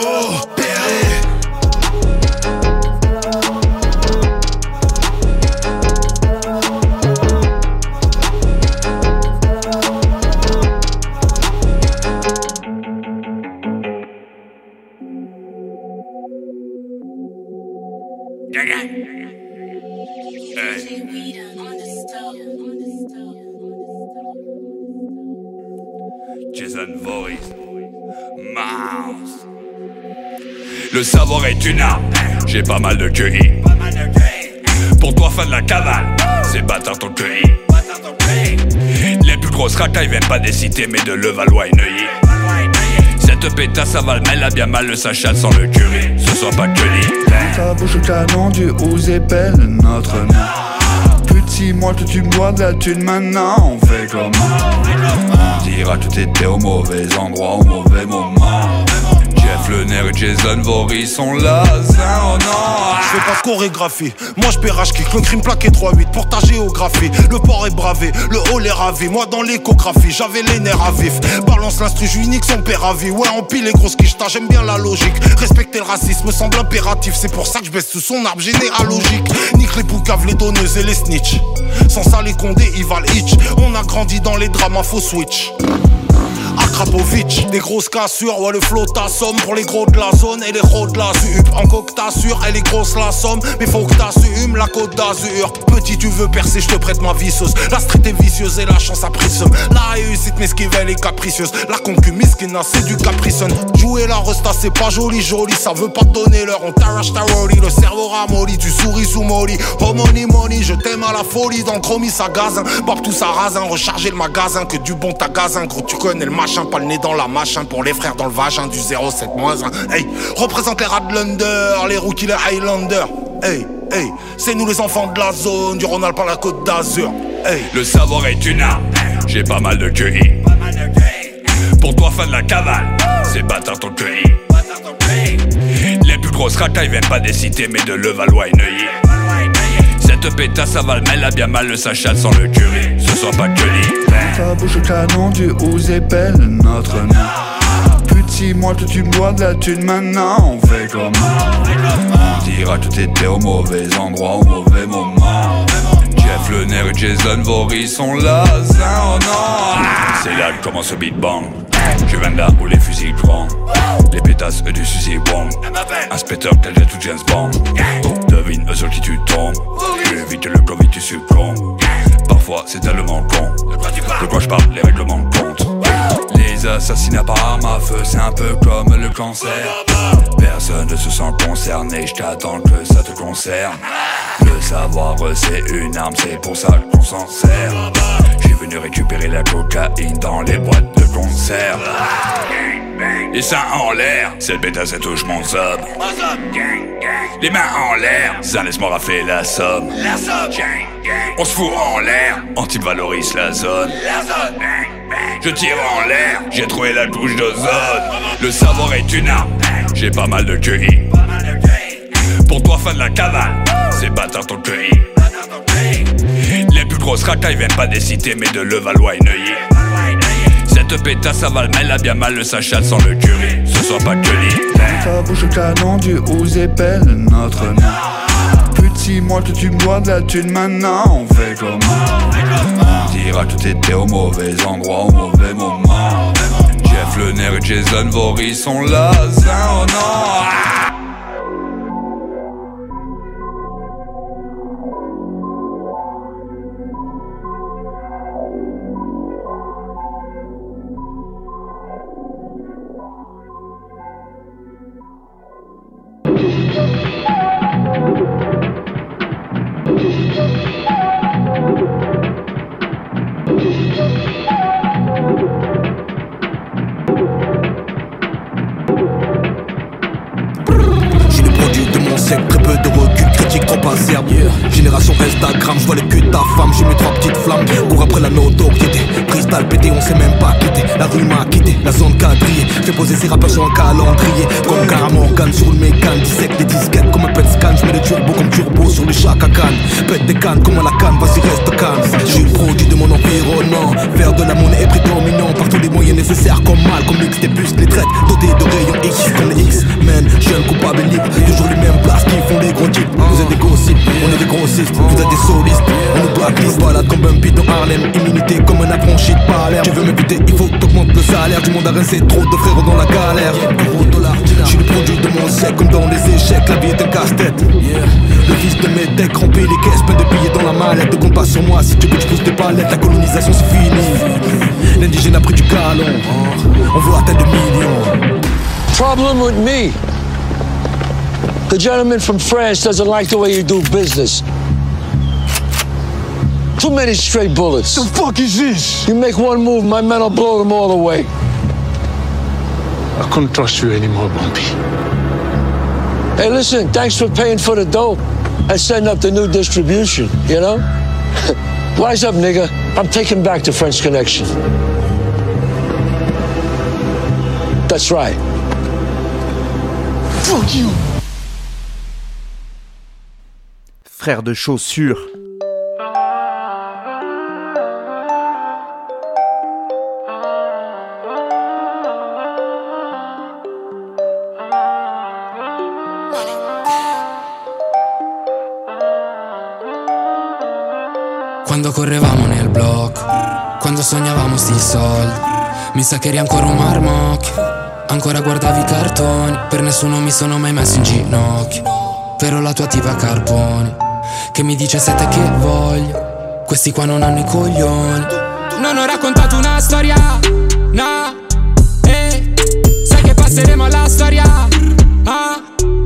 coopérer. Jason Voorhees, Mouse. Le savoir est une arme, j'ai pas mal de Q I. Pour toi fan de la cavale, c'est bâtard ton Q I. Les plus grosses racailles viennent pas des cités mais de Levallois et Neuilly. Cette pétasse avale, mais elle a bien mal le sachet sans le curry. Ce soit pas que lit. Ta bouche au canon du Ouzépel, notre nom. Petit moi que tu me dois de la thune maintenant, on fait comment? On dira que tout était au mauvais endroit, au mauvais moment. Jeff Jeff Lenner et Jason Voorhees sont là, oh non. Je fais pas de chorégraphie, moi je pérage kick. Le crime plaqué trois huit pour ta géographie. Le port est bravé, le hall est ravi. Moi dans l'échographie, j'avais les nerfs à vif. Balance l'instru, j'unique son père à vie. Ouais, empile les grosses quiches, j'aime bien la logique. Respecter le racisme semble impératif. C'est pour ça que je baisse sous son arbre généalogique. Nique les poucaves, les donneuses et les snitch. Sans ça les condés, ils valent hitch. On a grandi dans les dramas, faux switch. Akrapovic, des grosses cassures, ouais le flow t'assomme pour les gros de la zone et les gros de la zup. En coque t'assure, elle est grosse la somme, mais faut que t'assumes la côte d'Azur. Petit tu veux percer, je te prête ma visseuse. La street est vicieuse et la chance a pris somme. La réussite mesquivelle et capricieuse, la concu misquina c'est du capricon. Jouer la resta c'est pas joli joli, ça veut pas te donner l'heure, on t'arrache ta rollie. Le cerveau ramolli, tu souris sous molly. Oh money money, je t'aime à la folie, dans le chromie ça gazin. Bab tout ça rasin, recharger le magasin, que du bon tagazin. Gros tu connais le machin, pas le nez dans la machin. Pour les frères dans le vagin, du zéro sept moins un. Hey, représente les Radlander, les rookies, les Highlanders. Hey, hey, c'est nous les enfants de la zone, du Rhône par la côte d'Azur. Hey. Le savoir est une arme, j'ai pas mal de Q I. Pour toi fan de la cavale, c'est bâtard ton Q I. Les plus grosses racailles viennent pas des cités mais de Levallois et Neuilly. Cette pétasse avale, mais elle a bien mal le sachet sans le curry. Ce soit pas que lit. Ta bouche au canon du Ouzépel, notre nom. Petit, moi tout tu bois de la thune maintenant, on fait comment? On dira que t'étais au mauvais endroit, au mauvais moment. Jeff Lenner et Jason Voorhees sont là, oh non. C'est là que commence le beat bang. Je viens de là où les fusils grandent. Les pétasses eux du suicide bomb. Inspecteur tel de tout James Bond. Devine eux sur qui tu tombes. Plus vite que le Covid tu succombes. Parfois c'est tellement con. De quoi je parle, les règlements de compte. Les assassinats par arme à feu, c'est un peu comme le cancer. Personne ne se sent concerné, je t'attends que ça te concerne. Le savoir c'est une arme, c'est pour ça qu'on s'en sert. J'ai venu récupérer la cocaïne dans les boîtes de concert. Les seins en l'air, cette pétasse elle touche mon sub. Les mains en l'air, ça laisse-moi rafler la somme. On se fout en l'air, on type valorise la zone. Je tire en l'air, j'ai trouvé la couche d'ozone. Le savoir est une arme, j'ai pas mal de Q I. Pour toi fan de la cavale, c'est bâtard ton Q I. Les plus grosses racailles viennent pas des cités mais de Levallois et Neuilly. Cette pétasse avale, mais elle a bien mal le sachet sans le curry. Ce soit pas que lit. Ta bouche au canon du Ouzépel, notre nom. Petit, moi tout tu bois de la thune maintenant, on fait comment? On dira que t'étais au mauvais endroit, au mauvais moment. Jeff Lenner et Jason Voorhees sont là, oh non. Très peu de recul, critique trop acerbe. Yeah. Génération Instagram, je vois le cul de ta femme, j'ai mes trois petites flammes. Cours après la notoriété, cristal pété, on sait même pas quitter. La rue m'a quitté, la zone quadrillée. Fais poser ses rappeurs sur un calendrier. Comme Cara Morgan sur le mécan, dissecte des disquettes comme un pet scan. Je mets le turbo comme turbo sur le Chaka Khan. Pète des cannes comme à la canne, vas-y reste calme. Je suis le produit de mon environnement. Faire de la monnaie est prédominant. Par tous les moyens nécessaires comme mal, comme X, des puces, les traites. Dotés de rayons X, comme les X-Men. Jeune coupable libre, toujours les mêmes places qui font les gros types. Vous êtes des gossips, on est des grossistes. Vous êtes des solistes, on nous blacklist. Balade comme Bumpy dans Harlem, immunité comme un affranchi de Palerme. Tu veux me buter, il faut que t'augmentes le salaire. Du monde à rincer, trop de frères dans la galère. Je suis le produit de mon siècle, comme dans les échecs, la vie est un casse-tête. Le fils de mes decks remplit les caisses, plein de billets dans la mallette. Ne compte pas sur moi si tu veux que je pousse tes palettes. La colonisation c'est fini, l'indigène a pris du galon. On veut atteindre des millions. Problem with me. The gentleman from France doesn't like the way you do business. Too many stray bullets. The fuck is this? You make one move, my men will blow them all away. I couldn't trust you anymore, Bumpy. Hey, listen, thanks for paying for the dope and setting up the new distribution, you know? Wise up, nigga. I'm taking back the French Connection. That's right. Fuck you. Frère de chaussures. Quando correvamo nel blocco, quando sognavamo sti soldi, mi sa che eri ancora un marmocchio, ancora guardavi i cartoni, per nessuno mi sono mai messo in ginocchio, però la tua tipa Carboni, che mi dice sette che voglio, questi qua non hanno i coglioni. Non ho raccontato una storia, no, eh, sai che passeremo alla storia, ah,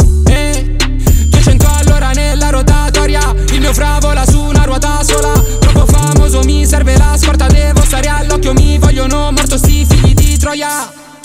eh, duecento all'ora nella rotatoria, il mio fra vola su una ruota sola, troppo famoso mi serve la scorta, devo stare all'occhio, mi vogliono morto sti figli di Troia.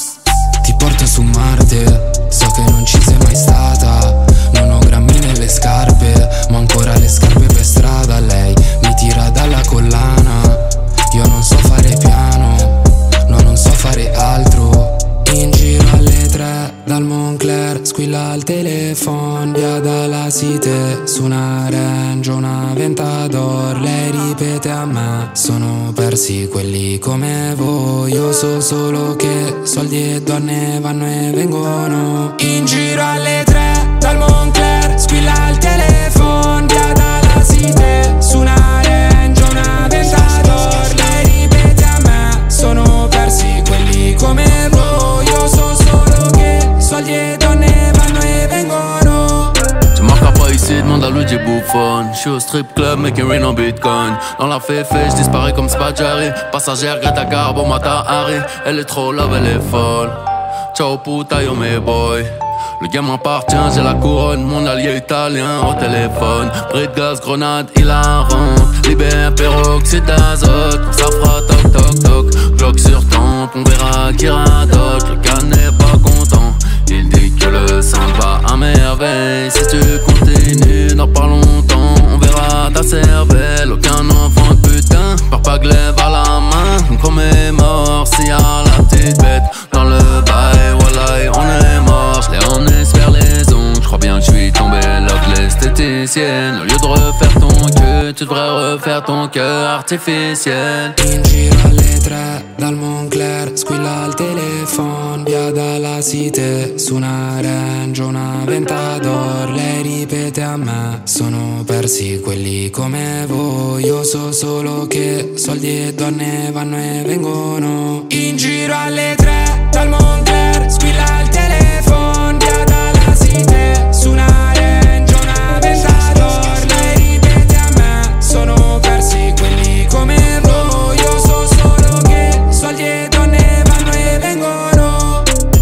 Ti porto su Marte, so che non ci sei mai stata, non ho grammi nelle scarpe, ma ancora le scarpe per strada, lei mi tira dalla collana, io non so fare piano, no non so fare altro. In giro alle tre dal Moncler, squilla il telefono, via dalla Cité, su una Range, una Ventador, lei ripete a me, sono persi quelli come voi, io so solo che soldi e donne vanno e vengono. In giro alle tre dal Moncler, squilla il telefono, via dalla Cité, su una Range, una Ventador, lei ripete a me, sono persi quelli come voi, io so solo che soldi e donne vanno e vengono. Tu marqueras pas ici, demande à Luigi Buffon. J'suis au strip club, making rain en bitcoin. Dans la féfé, j'disparais comme Spaggiari. Passagère, Greta Garbo, Mata Hari. Elle est trop love, elle est folle. Ciao puta, yo mes boy. Le game m'appartient, j'ai la couronne, mon allié italien au téléphone. Bris de gaz, grenade, il a rentre. Libère, peroxyde d'azote, ça fera toc toc toc. Glock sur tempe, on verra qui radote. Le gars n'est pas content, il dit que le sang va à merveille. Si tu continues, dans pas longtemps, on verra ta cervelle. Aucun enfant de putain, par pas glaive à la main. On commémore s'il y a la petite bête dans le bail, voilà, on est mort. Je l'ai emmené se faire les ongles, je crois bien que je suis tombé love l'esthéticienne. Au lieu de refaire ton cul, tu devrais refaire ton cœur artificiel. In giro alle tre dal Moncler, squilla il telefono, via dalla Cité, su una Range, una Ventador, lei ripete a me, sono persi quelli come voi, io so solo che soldi e donne vanno e vengono. In giro alle tre dal Moncler, squilla il telefono, via dalla Cité, su una Range, una Ventador, lei ripete a me, sono persi quelli come voi, io so solo che soldi e donne vanno e vengono.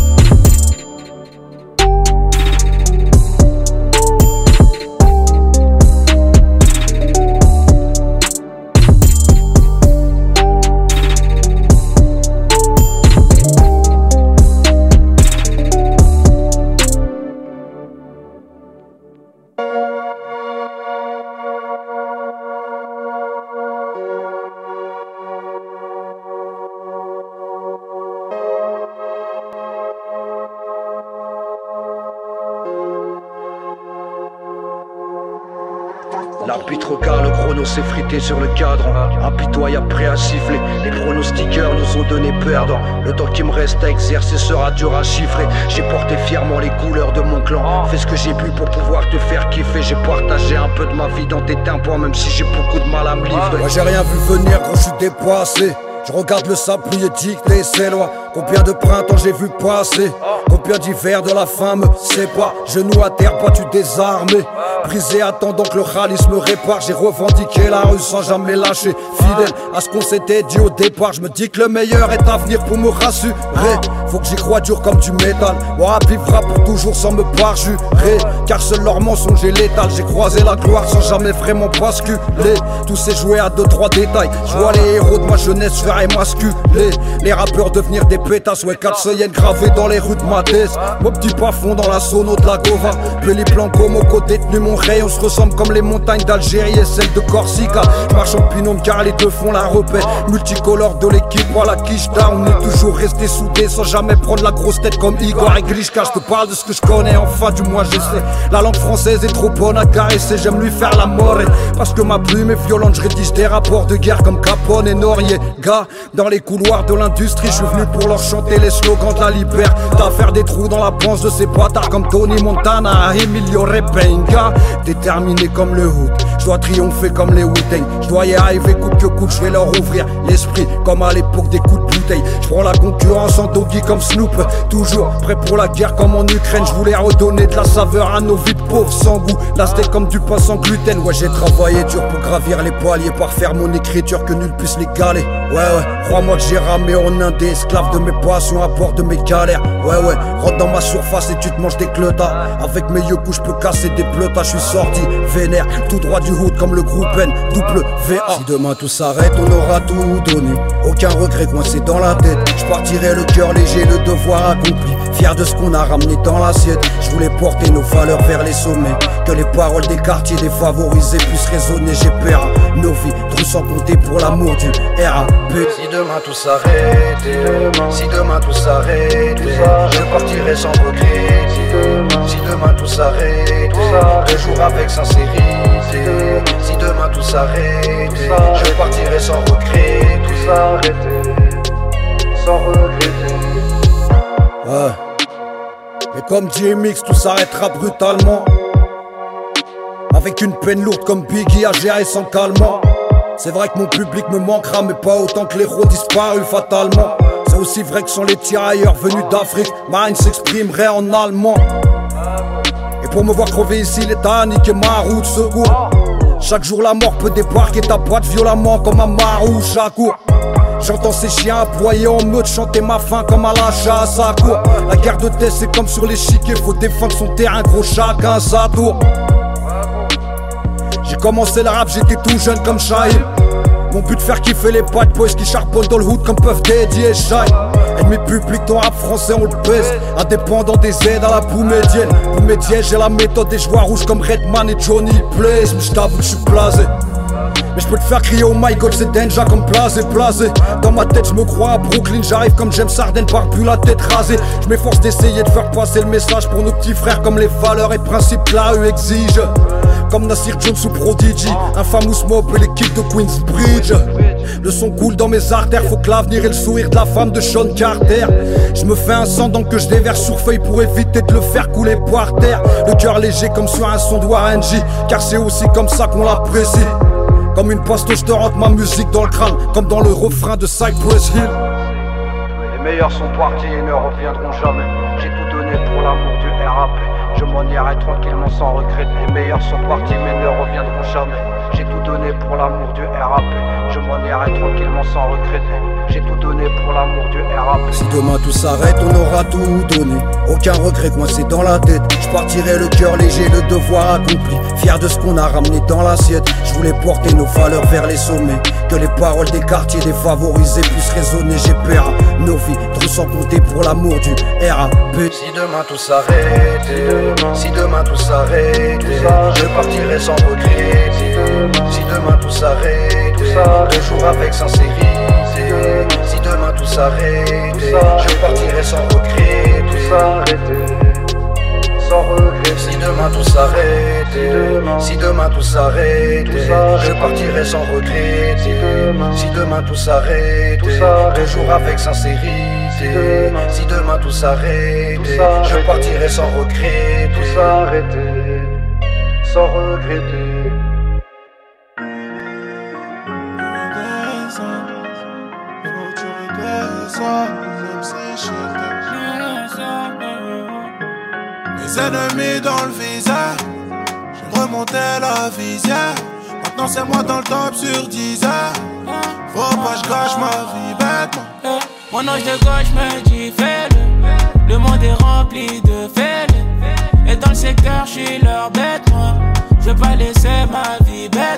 L'arbitre au quart, le chrono s'est frité sur le cadre. Impitoyable, prêt à siffler. Les pronostiqueurs nous ont donné perdant. Le temps qui me reste à exercer sera dur à chiffrer. J'ai porté fièrement les couleurs de mon clan. Fais ce que j'ai pu pour pouvoir te faire kiffer. J'ai partagé un peu de ma vie dans tes tympans, même si j'ai beaucoup de mal à me livrer. Moi j'ai rien vu venir quand je suis dépassé. Je regarde le sable plié, dicter ses lois. Combien de printemps j'ai vu passer, combien d'hivers de la faim me sépare. Genoux à terre, battu désarmé, brisé attendant que le ralice me répare. J'ai revendiqué la rue sans jamais lâcher, fidèle à ce qu'on s'était dit au départ. Je me dis que le meilleur est à venir pour me rassurer. Faut que j'y croie dur comme du métal. Moi vivra pour toujours sans me parjurer, car seul leur mensonge est létal. J'ai croisé la gloire sans jamais vraiment basculer. Tout s'est joué à deux trois détails. Je vois les héros de ma jeunesse faire émasculer. Les rappeurs devenir des pétasses, ouais quatre seuils gravés dans les rues de ma tête. Mercedes. Mon petit plafond dans la sono de la Gova. Puis les plans comme au côté détenu mon rayon. On se ressemble comme les montagnes d'Algérie et celles de Corsica. Je marche en binôme car les deux font la repère. Multicolore de l'équipe à la quicheta. On est toujours resté soudés sans jamais prendre la grosse tête comme Igor et Grishka. Je te parle de ce que je connais, enfin du moins j'essaie. La langue française est trop bonne à caresser. J'aime lui faire la mort et parce que ma plume est violente. Je rédige des rapports de guerre comme Capone et Noriega. Dans les couloirs de l'industrie, je suis venu pour leur chanter les slogans de la liberté. T'as faire des trous dans la panse de ces bâtards comme Tony Montana, Emilio Repenga. Déterminé comme le hood, je dois triompher comme les Wu-Tang. Je dois y arriver coûte que coûte, je vais leur ouvrir l'esprit comme à l'époque des coups de bouteille. Je prends la concurrence en doggy comme Snoop. Toujours prêt pour la guerre comme en Ukraine. Je voulais redonner de la saveur à nos vies de pauvres sans goût. Là c'était comme du pain sans gluten. Ouais, j'ai travaillé dur pour gravir les paliers, par faire mon écriture que nul puisse l'égaler. Ouais ouais, crois-moi que j'ai ramé en Inde, esclave de mes passions à bord de mes galères. Ouais ouais, rentre dans ma surface et tu te manges des clotas. Avec mes yeux coups je peux casser des pleutas. Je suis sorti vénère, tout droit du hood comme le groupe N, double V A. Si demain tout s'arrête, on aura tout donné. Aucun regret coincé dans la tête. Je partirai le cœur léger, le devoir accompli. Fier de ce qu'on a ramené dans l'assiette. Je voulais porter nos valeurs vers les sommets. Que les paroles des quartiers défavorisés puissent résonner. J'ai peur nos vies, trop sans compter pour l'amour du R A P. Si demain tout s'arrête, si demain tout s'arrête, je partirai sans regret. Si demain tout s'arrête, toujours avec sincérité. Si demain tout s'arrête, je partirai sans regret. Tout s'arrêter, sans regretter. Ouais. Et comme D M X, tout s'arrêtera brutalement. Avec une peine lourde comme Biggie à gérer sans calmant. C'est vrai que mon public me manquera, mais pas autant que l'héros disparu fatalement. C'est aussi vrai que sans les tirailleurs venus d'Afrique, ma haine s'exprimerait en allemand. Et pour me voir crever ici, l'État a niqué ma roue de secours. Chaque jour la mort peut débarquer ta boîte violemment comme un marou chaque cour. J'entends ces chiens aboyer en meute, chanter ma faim comme à la chasse à cour. La guerre de tête c'est comme sur l'échiquier, faut défendre son terrain, gros chacun sa tour. J'ai commencé le rap, j'étais tout jeune comme Shahid. Mon but de faire kiffer les bad boys qui charbonnent dans le hood comme Puff Daddy et Shine. Ennemi public dans rap français on le pèse. Indépendant des aides à la boue médienne. Pour médienne j'ai la méthode des joueurs rouges comme Redman et Johnny Blaze. Mais j't'avoue que j'suis blasé. Mais j'peux te faire crier oh my god c'est danger comme blasé blasé. Dans ma tête j'me crois à Brooklyn. J'arrive comme James Harden par plus la tête rasée. J'm'efforce d'essayer de faire passer le message pour nos petits frères comme les valeurs et principes que la rue exige. Comme Nasir Jones ou Prodigy, un famous mob et l'équipe de Queensbridge. Le son coule dans mes artères, faut que l'avenir et le sourire de la femme de Sean Carter. Je me fais un sang donc que je déverse sur feuille pour éviter de le faire couler par terre. Le cœur léger comme sur un son de Warren G, car c'est aussi comme ça qu'on l'apprécie. Comme une pasto, je te rentre ma musique dans le crâne, comme dans le refrain de Cypress Hill. Les meilleurs sont partis et ne reviendront jamais. J'ai tout donné pour l'amour du R A P. Je m'en irai tranquillement sans regret. Les meilleurs sont partis mais ne reviendront jamais. J'ai tout donné pour l'amour du R A P. Je m'en irai tranquillement sans regretter. J'ai tout donné pour l'amour du R A P. Si demain tout s'arrête, on aura tout donné. Aucun regret coincé dans la tête. Je partirai le cœur léger, le devoir accompli. Fier de ce qu'on a ramené dans l'assiette. Je voulais porter nos valeurs vers les sommets. Que les paroles des quartiers défavorisés puissent résonner. J'ai peur nos vies, trop sans compter pour l'amour du R A P. Si demain tout s'arrête, si demain tout s'arrête, je partirai sans regret. Si demain tout s'arrête, toujours avec sincérité. Si demain tout s'arrête, je partirai sans regret. Tout s'arrêter, sans regret. Si demain tout s'arrête, si demain tout s'arrête, je partirai sans regret. Si demain tout s'arrête, toujours avec sincérité. Si demain tout s'arrête, je partirai sans regret. Tout s'arrêter, sans regretter. Mes ennemis dans le visage, j'ai remonté la visière. Maintenant c'est moi dans le top sur dix heures. Faut pas que je gâche ma vie bêtement. Mon ange de gauche me dit fais-le. Le monde est rempli de fêles. Et dans le secteur j'suis leur bête moi. Je veux pas laisser ma vie bête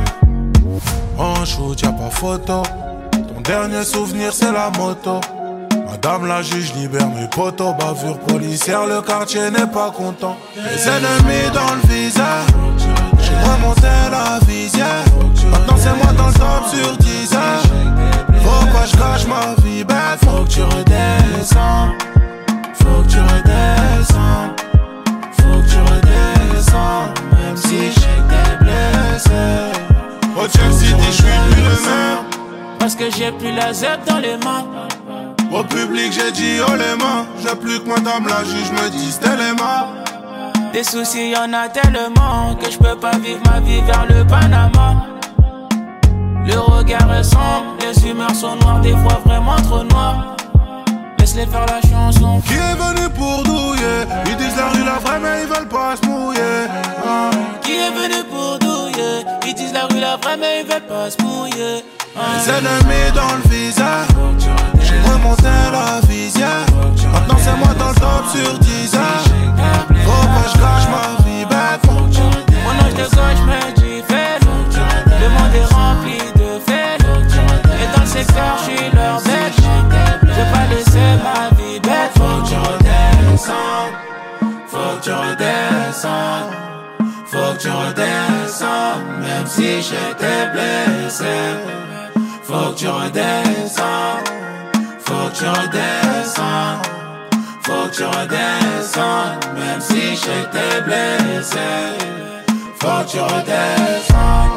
moi. En shoot y'a pas photo. Ton dernier souvenir c'est la moto. Madame la juge libère mes potos, bavure policière, le quartier n'est pas content. Les ennemis dans le viseur, j'ai remonté la visière. Maintenant c'est moi dans le top sur dix heures. Faut pas que je cache ma vie bête, faut que tu redescends. Faut que tu redescends. Faut que tu redescends. Même si je sais que t'es blessé. Au Check City j'suis plus le même. Parce que j'ai plus la Z dans les mains. Au public j'ai dit oh les mains. J'ai plus que madame la juge me dit c'était les mains. Des soucis y'en a tellement que je peux pas vivre ma vie vers le Panama. Le regard est sombre, les humeurs sont noires, des fois vraiment trop noires. Laisse-les faire la chanson. Qui est venu pour douiller? Ils disent la rue la vraie mais ils veulent pas se mouiller. Ah. Qui est venu pour douiller? Ils disent la rue la vraie mais ils veulent pas se mouiller. Ah. Les ennemis dans le viseur, j'ai remonté la visière. Maintenant c'est moi dans le top sur dix heures. Faut pas que je cache ma vie bête. Mon ange de gauche me dit fais-le. Le monde est rempli de faits. Et dans le secteur j'suis leur bête. Je vais pas laisser ma vie bête. Faut que tu redescendes. Faut que tu redescendes. Faut que tu redescendes. Même si j'étais blessé. Faut que tu redescendes. Faut que tu redescendes. Faut que tu redescendes. Même si j'étais blessé. Faut que tu redescendes.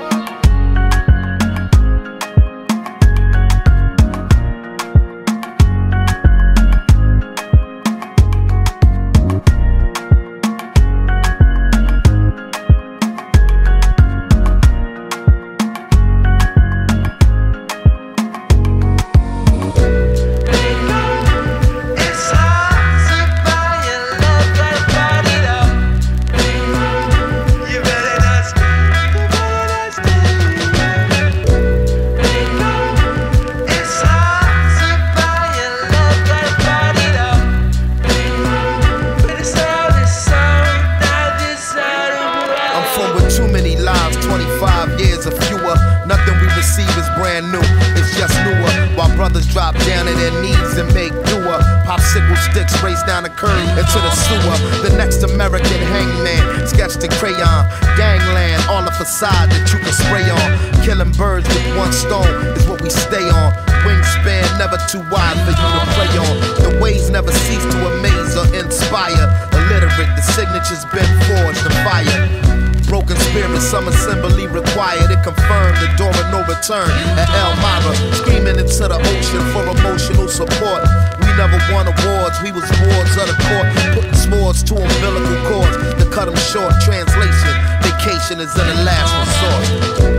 Drop down to their knees and make doer. Popsicle sticks race down the curb into the sewer. The next American hangman, sketched in crayon. Gangland, all the facade that you can spray on. Killing birds with one stone is what we stay on. Wingspan never too wide for you to play on. The ways never cease to amaze or inspire. Illiterate, the signature's been forged in fire. Broken spirit, some assembly required. It confirmed the door of no return at Elmira. Screaming into the ocean for emotional support. We never won awards, we was wards of the court. Putting swords to umbilical cords to cut them short. Translation, vacation is in the last resort.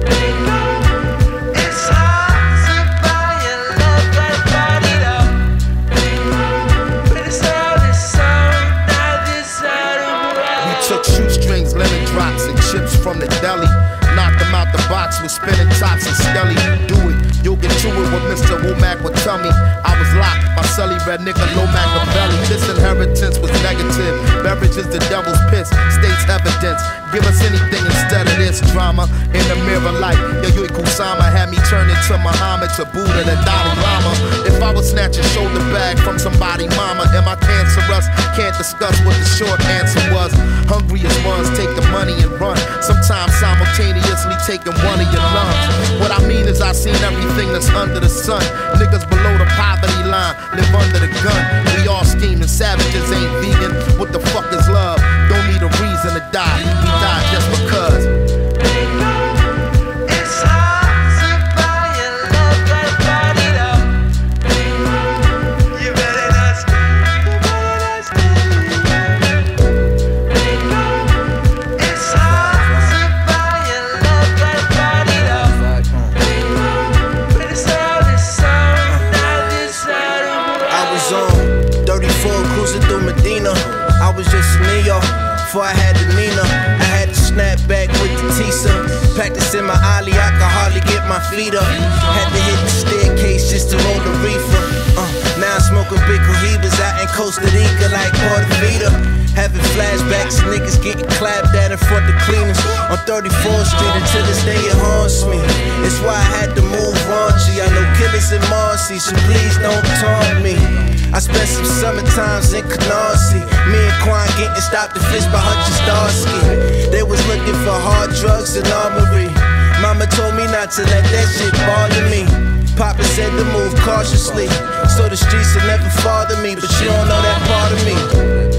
Chips from the deli, knock them out the box with spinning tops and skelly. Do it, you'll get to it what Mister Womack would tell me. I was locked, my celly red nigga, low Machiavelli. This inheritance was negative. Beverage is the devil's piss, states evidence. Give us anything instead of this drama. In the mirror light, Yayoi Kusama had me turn into Muhammad to Buddha, the Dalai Lama. If I was snatching shoulder bag from somebody, mama, am I cancerous? Can't discuss what the short answer was. Hungriest ones take the money and run. Sometimes simultaneously taking one of your lungs. What I mean is I seen everything that's under the sun. Niggas below the poverty line live under the gun. We all scheming, savages ain't vegan. What the fuck is love? Don't need a reason to die. We die just because. It's hard to buy your love, gotta buy it up. You better not stay, you better not stay. It's hard to buy your love, gotta buy it up. But it's all this song, not this side of the I was on thirty-four cruising through Medina. I was just in New York before I had the Nina. I had to snap back with the Tisa. Practicing my ollie, I could hardly get my feet up. Had to hit the staircase just to roll the reefer. Uh, now I'm smoking big cohibas out in Costa Rica like Portofino. Having flashbacks, niggas getting clapped at in front of cleaners on thirty-fourth Street, and to this day it haunts me. It's why I had to move raunchy. I know killers in Marcy, so please don't taunt I spent some summer times in Canarsie. Me and Quan getting stopped and fished by Hutch and Starsky. They was looking for hard drugs and armory. Mama told me not to let that shit bother me. Papa said to move cautiously, so the streets will never bother me. But you don't know that part of me.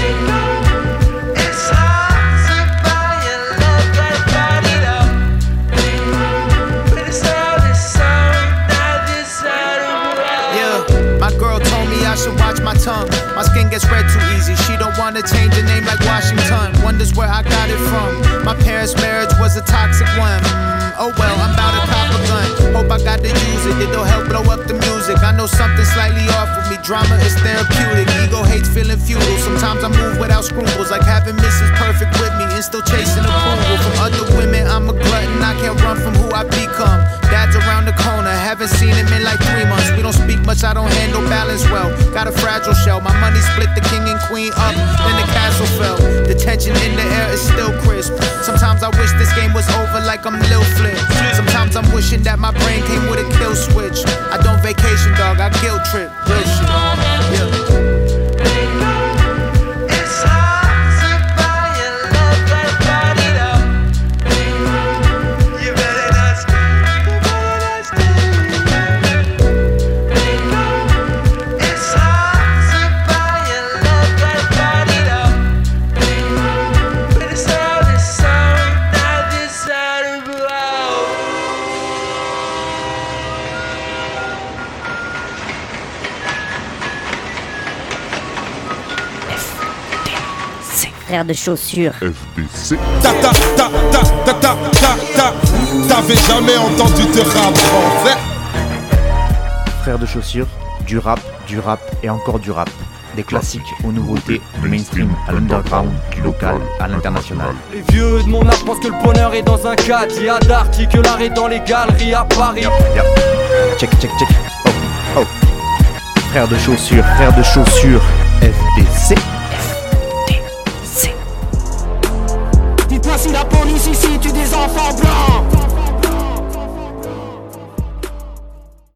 I should watch my tongue. My skin gets red too easy. She don't wanna change the name like Washington. Wonders where I got it from. My parents' marriage was a toxic one. Mm, oh well, I'm bout to cop a gun. Hope I got to use it. It'll help blow up the music. I know something slightly off with me. Drama is therapeutic. Ego hates feeling futile. Sometimes I move without scruples, like having Missus Perfect with me and still chasing approval from other women. I'm a glutton. I can't run from who I become. Dad's around the corner. Haven't seen him in like three months. We don't speak much. I don't handle balance well. Got a fragile shell. My money split the king and queen up, then the castle fell. The tension in the air is still crisp. Sometimes I wish this game was over like I'm Lil Flip. Sometimes I'm wishing that my brain came with a kill switch. I don't vacation, dog, I guilt trip. Real shit. Yeah. Frère de chaussures. F B C. Ta ta ta ta ta ta ta ta. T'avais jamais entendu de rap en fait. Frère de chaussures, du rap, du rap et encore du rap. Des classiques aux nouveautés, du mainstream à l'underground, du local à l'international. Les vieux de mon âge pensent que le bonheur est dans un cadre. Il y a d'arty que l'art est dans les galeries à Paris. Yep, yep. Check, check, check. Oh, oh. Frère de chaussures, frère de chaussures, F B C.